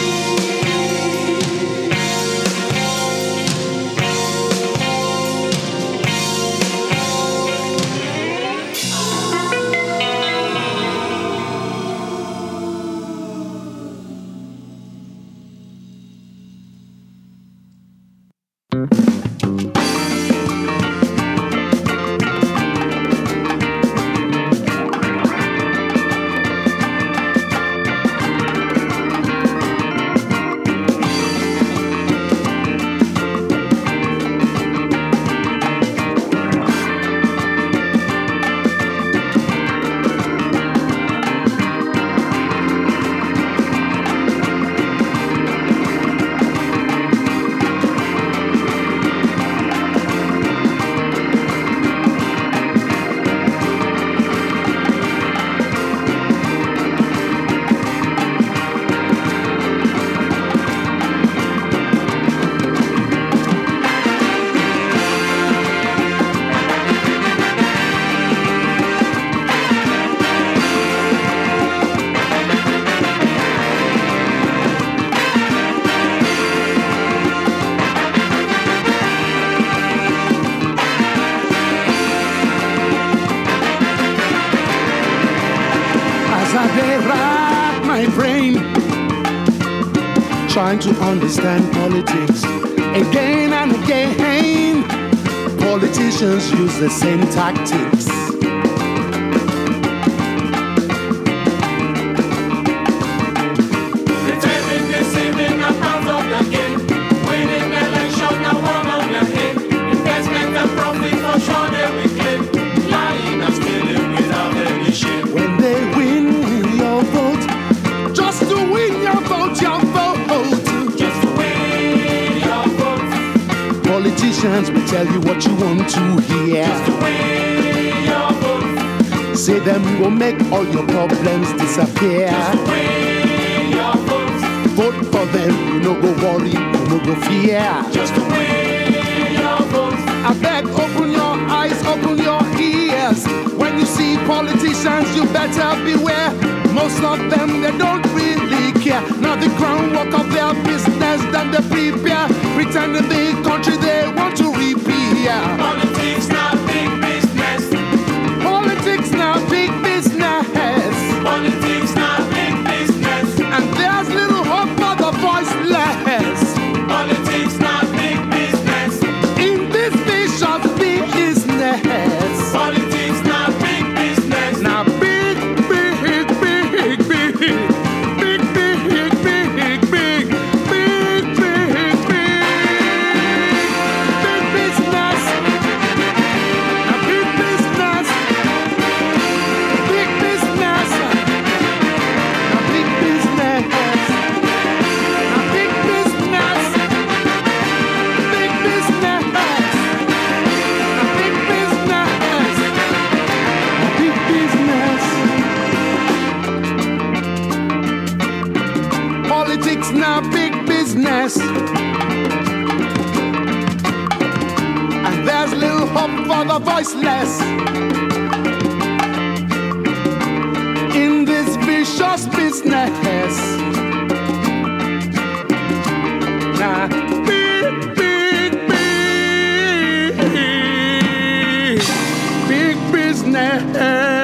As I dey rack my brain, trying to understand politics again and again. Politicians use the same tactics. Pretending, deceiving, a part of the game. Winning election, now one on your head. Investment and profit for sure they will claim. Lying and stealing without any shame. When they win your vote, just to win your vote, your vote. Just to win your vote. Politicians will tell you what you want to hear. Just to win your vote. Say them go make all your problems disappear. Just to win your vote. Vote for them, you no go worry, you no go fear. Just to win your vote. I beg, open your eyes, open your ears. When you see politicians, you better beware. Most of them, they don't really care. Now the groundwork of their business that they prepare. Pretending the country they want to repair. Politics not big business. Politics now big business. Politics not big business. And there's little hope for the voiceless. Politics not big business. In this vicious business. Politics not big business. Now big, big, big, big, big, big, big, big, big, big, big, big, big. voiceless in this vicious business. Now, big, big, big, big business.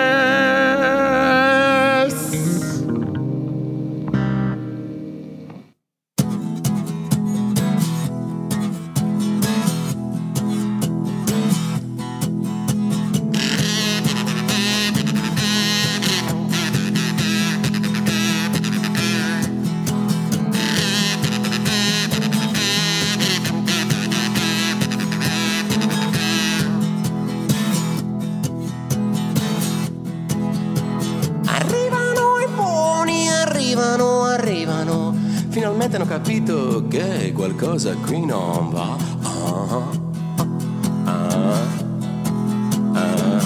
Finalmente hanno capito che qualcosa qui non va. Ah, ah, ah.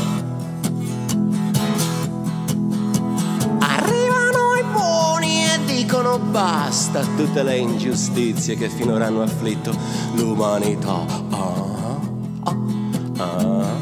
Arrivano i buoni e dicono basta a tutte le ingiustizie che finora hanno afflitto l'umanità. Ah, ah, ah.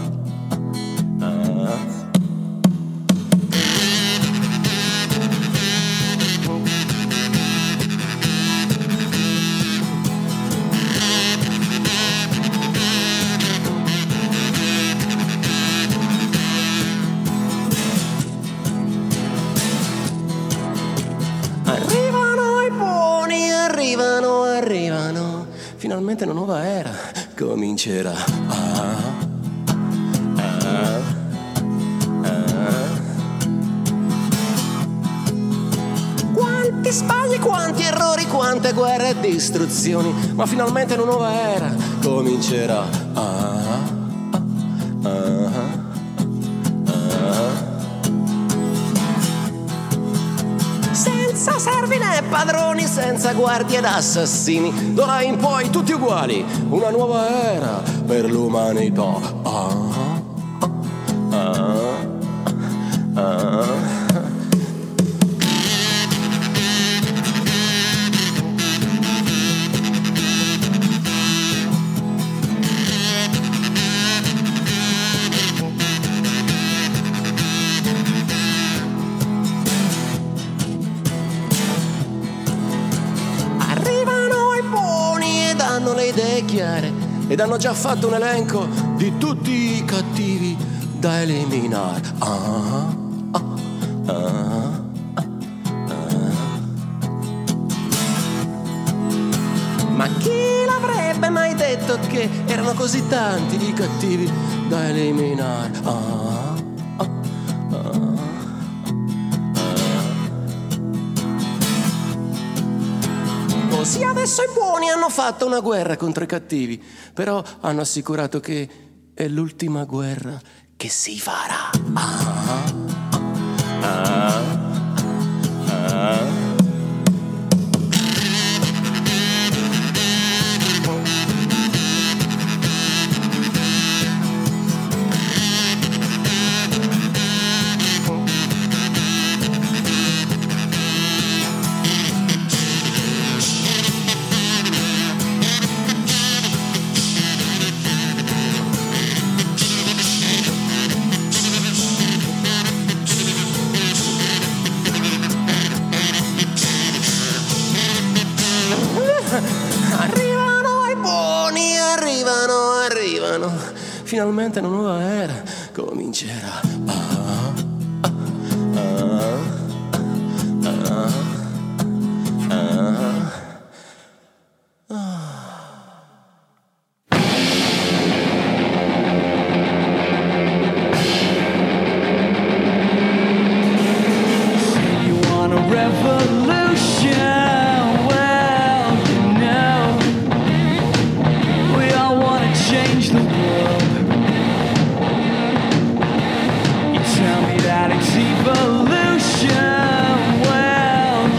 Finalmente una nuova era comincerà. Ah, ah, ah. Quanti sbagli, quanti errori, quante guerre e distruzioni, ma finalmente una nuova era comincerà. Ah, ah, ah. Senza servi né padroni, senza guardie ed assassini, d'ora in poi tutti uguali, una nuova era per l'umanità. Ah, ah, ah, ah. Le idee chiare ed hanno già fatto un elenco di tutti i cattivi da eliminare. Ah, ah, ah, ah. Ma chi l'avrebbe mai detto che erano così tanti i cattivi da eliminare? Ah, ah, ah. Così adesso i buoni hanno fatto una guerra contro i cattivi, però hanno assicurato che è l'ultima guerra che si farà. Ah, ah, ah. Arrivano i buoni, arrivano, arrivano. Finalmente una nuova era comincerà. Ah, ah, ah, ah, ah, ah. You want a revolution? Change the world. You tell me that it's evolution. Well,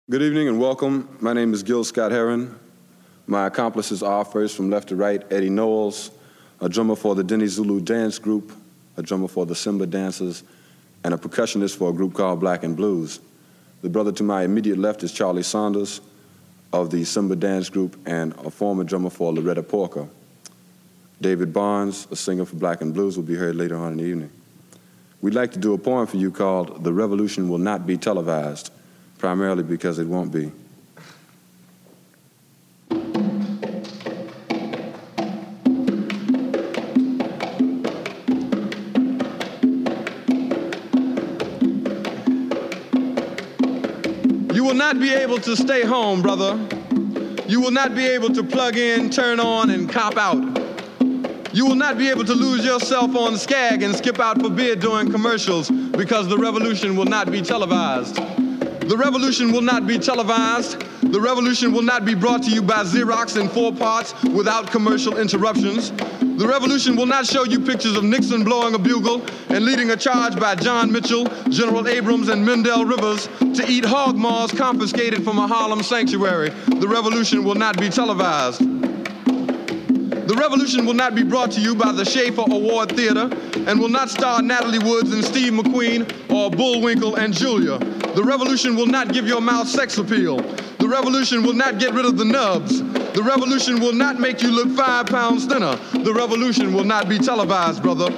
Good evening and welcome. My name is Gil Scott Heron. My accomplices are, first from left to right, Eddie Knowles, a drummer for the Denny Zulu Dance Group, a drummer for the Simba Dancers, and a percussionist for a group called Black and Blues. The brother to my immediate left is Charlie Saunders of the Simba Dance Group and a former drummer for Loretta Porker. David Barnes, a singer for Black and Blues, will be heard later on in the evening. We'd like to do a poem for you called The Revolution Will Not Be Televised, primarily because it won't be. You will not be able to stay home, brother. You will not be able to plug in, turn on, and cop out. You will not be able to lose yourself on Skag and skip out for beer during commercials because the revolution will not be televised. The revolution will not be televised. The revolution will not be brought to you by Xerox in four parts without commercial interruptions. The revolution will not show you pictures of Nixon blowing a bugle and leading a charge by John Mitchell, General Abrams, and Mendel Rivers to eat hog maws confiscated from a Harlem sanctuary. The revolution will not be televised. The revolution will not be brought to you by the Schaefer Award Theater and will not star Natalie Woods and Steve McQueen or Bullwinkle and Julia. The revolution will not give your mouth sex appeal. The revolution will not get rid of the nubs. The revolution will not make you look five pounds thinner. The revolution will not be televised, brother.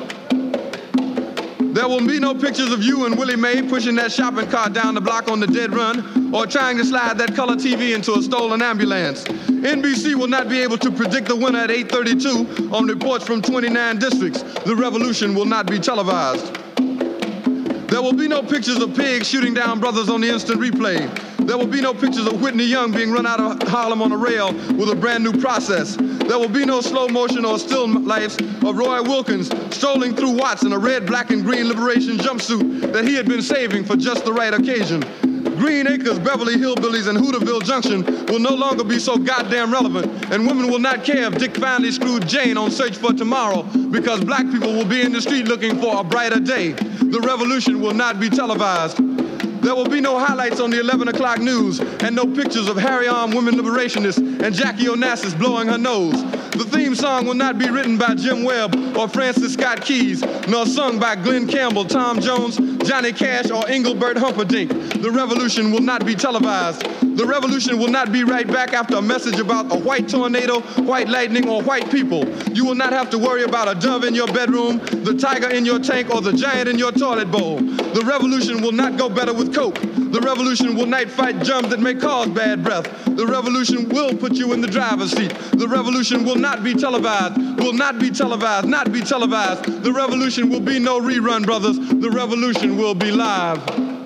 There will be no pictures of you and Willie Mae pushing that shopping cart down the block on the dead run or trying to slide that color T V into a stolen ambulance. N B C will not be able to predict the winner at eight thirty-two on reports from twenty-nine districts. The revolution will not be televised. There will be no pictures of pigs shooting down brothers on the instant replay. There will be no pictures of Whitney Young being run out of Harlem on a rail with a brand new process. There will be no slow motion or still lifes of Roy Wilkins strolling through Watts in a red, black, and green liberation jumpsuit that he had been saving for just the right occasion. Green Acres, Beverly Hillbillies, and Hooterville Junction will no longer be so goddamn relevant, and women will not care if Dick finally screwed Jane on Search for Tomorrow because black people will be in the street looking for a brighter day. The revolution will not be televised. There will be no highlights on the eleven o'clock news and no pictures of Harry-armed women liberationists and Jackie Onassis blowing her nose. The theme song will not be written by Jim Webb or Francis Scott Keys, nor sung by Glenn Campbell, Tom Jones, Johnny Cash, or Engelbert Humperdinck. The revolution will not be televised. The revolution will not be right back after a message about a white tornado, white lightning, or white people. You will not have to worry about a dove in your bedroom, the tiger in your tank, or the giant in your toilet bowl. The revolution will not go better with coke. The revolution will not fight germs that may cause bad breath. The revolution will put you in the driver's seat. The revolution will not be televised, will not be televised, not be televised. The revolution will be no rerun, brothers. The revolution will be live.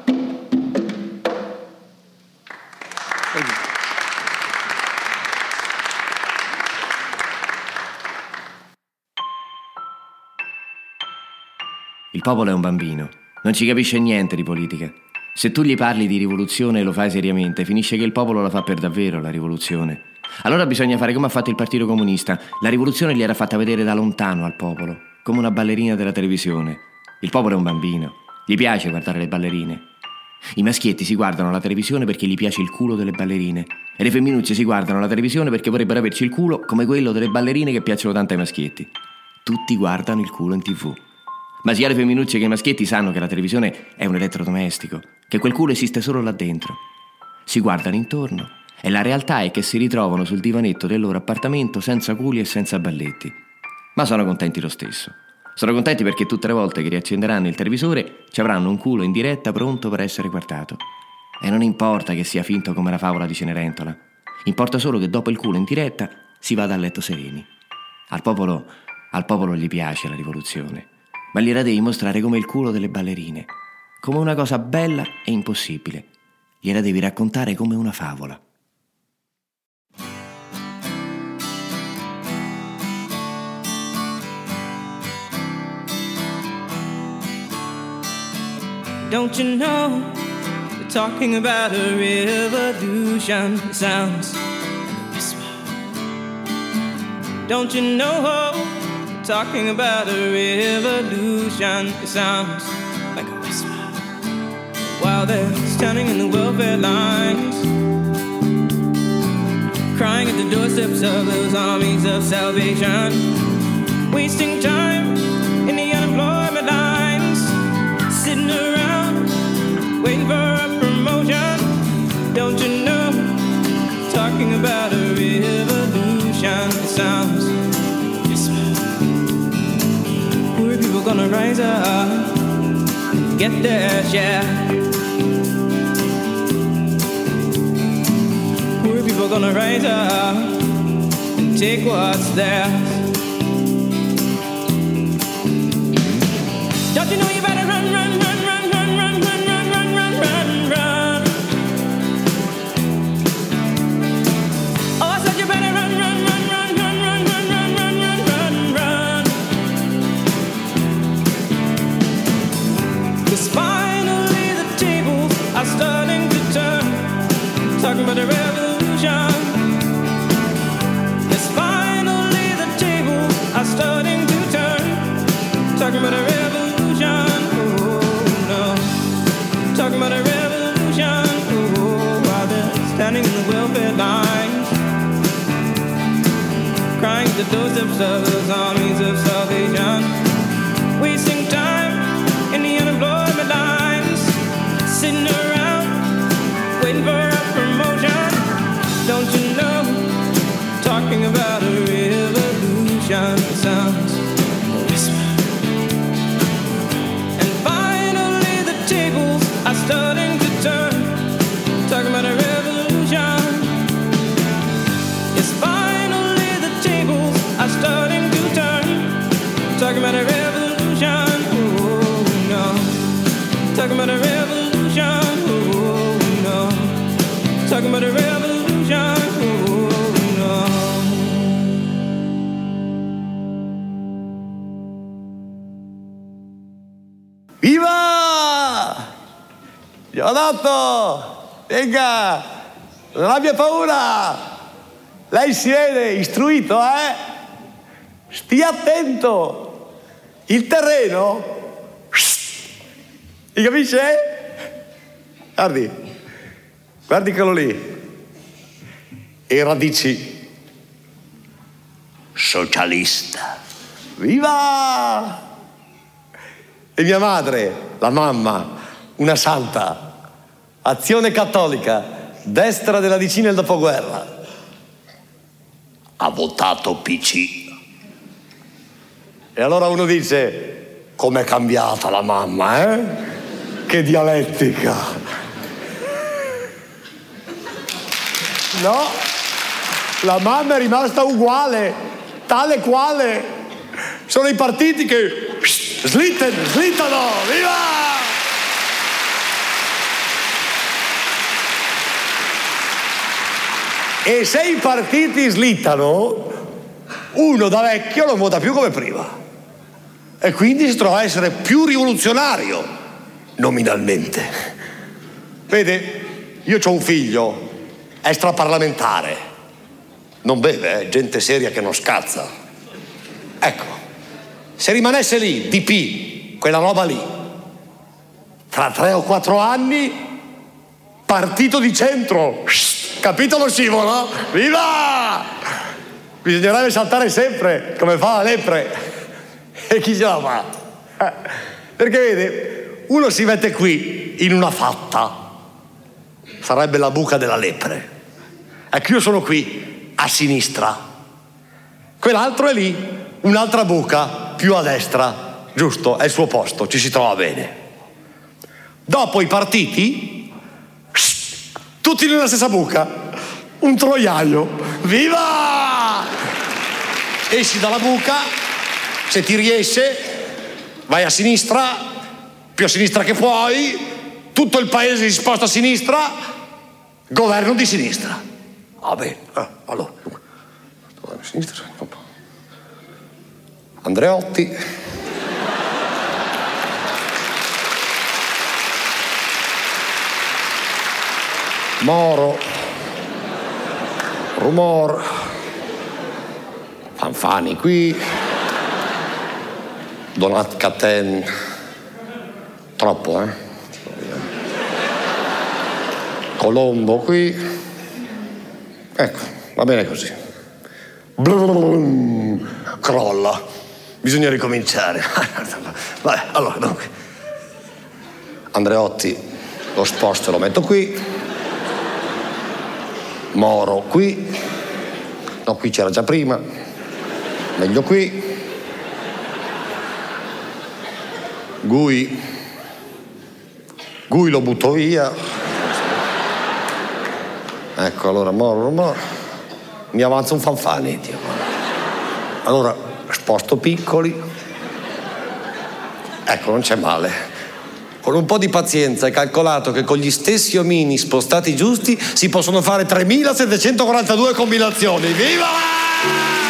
Thank you. Il popolo è un bambino, non ci capisce niente di politica. Se tu gli parli di rivoluzione e lo fai seriamente, finisce che il popolo la fa per davvero, la rivoluzione. Allora bisogna fare come ha fatto il Partito Comunista. La rivoluzione gliel'era fatta vedere da lontano al popolo, come una ballerina della televisione. Il popolo è un bambino, gli piace guardare le ballerine. I maschietti si guardano la televisione perché gli piace il culo delle ballerine e le femminucce si guardano la televisione perché vorrebbero averci il culo come quello delle ballerine che piacciono tanto ai maschietti. Tutti guardano il culo in tv. Ma sia le femminucce che i maschietti sanno che la televisione è un elettrodomestico, che quel culo esiste solo là dentro. Si guardano intorno e la realtà è che si ritrovano sul divanetto del loro appartamento senza culi e senza balletti. Ma sono contenti lo stesso. Sono contenti perché tutte le volte che riaccenderanno il televisore ci avranno un culo in diretta pronto per essere guardato. E non importa che sia finto come la favola di Cenerentola. Importa solo che dopo il culo in diretta si vada a letto sereni. Al popolo, al popolo gli piace la rivoluzione. Ma gliela devi mostrare come il culo delle ballerine, come una cosa bella e impossibile. Gliela devi raccontare come una favola. Don't you know, we're talking about a revolution. It sounds like a whisper. Don't you know, talking about a revolution, it sounds like a whisper. While they're standing in the welfare lines, crying at the doorsteps of those armies of salvation, wasting time in the unemployment lines, sitting around waiting for a promotion. Don't you know, talking about a revolution. It sounds, poor people gonna rise up, get their share. Poor people gonna rise up and take what's theirs. Don't you know you better run, run, run, run, run, run, run, run, run, run, run, run. Oh, I said you better run, run, run, run, run, run, run, run, run, run, run, run. 'Cause finally the tables are starting to turn, talking about a revolution. Yes, finally the tables are starting to turn, talking about a revolution. Oh no, talking about a revolution. Oh, while they're standing in the welfare lines, crying at the doorsteps of those armies of salvation, wasting time in the unemployment lines, sitting around waiting for a promotion. Don't you know, talking about a revolution. It sounds whisper. And finally the tables are starting to turn, talking about a revolution. Yes, finally the tables are starting to turn, talking about a revolution. Oh no, talking about a revolution. Oh no, talking about a revolution. Oh no. Viva! Giovanotto! Venga! Non abbia paura! Lei si vede istruito, eh? Stia attento! Il terreno? Mi capisce? Guardi, guardi quello lì. E radici socialista. Viva! E mia madre, la mamma, una santa, Azione Cattolica, destra della D C nel dopoguerra. Ha votato P C. E allora uno dice, com'è cambiata la mamma, eh? Che dialettica. No, la mamma è rimasta uguale, tale quale. Sono i partiti che slittano, slittano, viva! E se i partiti slittano, uno da vecchio non vota più come prima. E quindi si trova a essere più rivoluzionario, nominalmente. Vede, io ho un figlio extraparlamentare. Non beve, eh? Gente seria che non scazza. Ecco, se rimanesse lì, D P, quella roba lì, tra tre o quattro anni, partito di centro, capito lo scivolo? Viva! Bisognerebbe saltare sempre, come fa la lepre. E chi ce la fa? Perché vede, uno si mette qui, in una fatta, sarebbe la buca della lepre. Ecco, io sono qui, a sinistra. Quell'altro è lì, un'altra buca, più a destra. Giusto, è il suo posto, ci si trova bene. Dopo i partiti, tutti nella stessa buca, un troiaio. Viva! Esci dalla buca, se ti riesce, vai a sinistra, più a sinistra che puoi, tutto il paese si sposta a sinistra, governo di sinistra. Va bene, eh, allora, governo di sinistra, Andreotti. Moro, Rumor, Fanfani qui, Donat Caten, troppo, eh? Colombo qui, ecco. va bene così. Blum, crolla. Bisogna ricominciare. Vai, allora, dunque. Andreotti, lo sposto lo metto qui. Moro qui. No, qui c'era già prima. Meglio qui. Gui. Gui lo butto via. Ecco, allora Moro, Moro. Mi avanza un Fanfani, Dio. Allora, sposto Piccoli. Ecco, non c'è male. Con un po' di pazienza hai calcolato che con gli stessi omini spostati giusti si possono fare tremilasettecentoquarantadue combinazioni. Viva!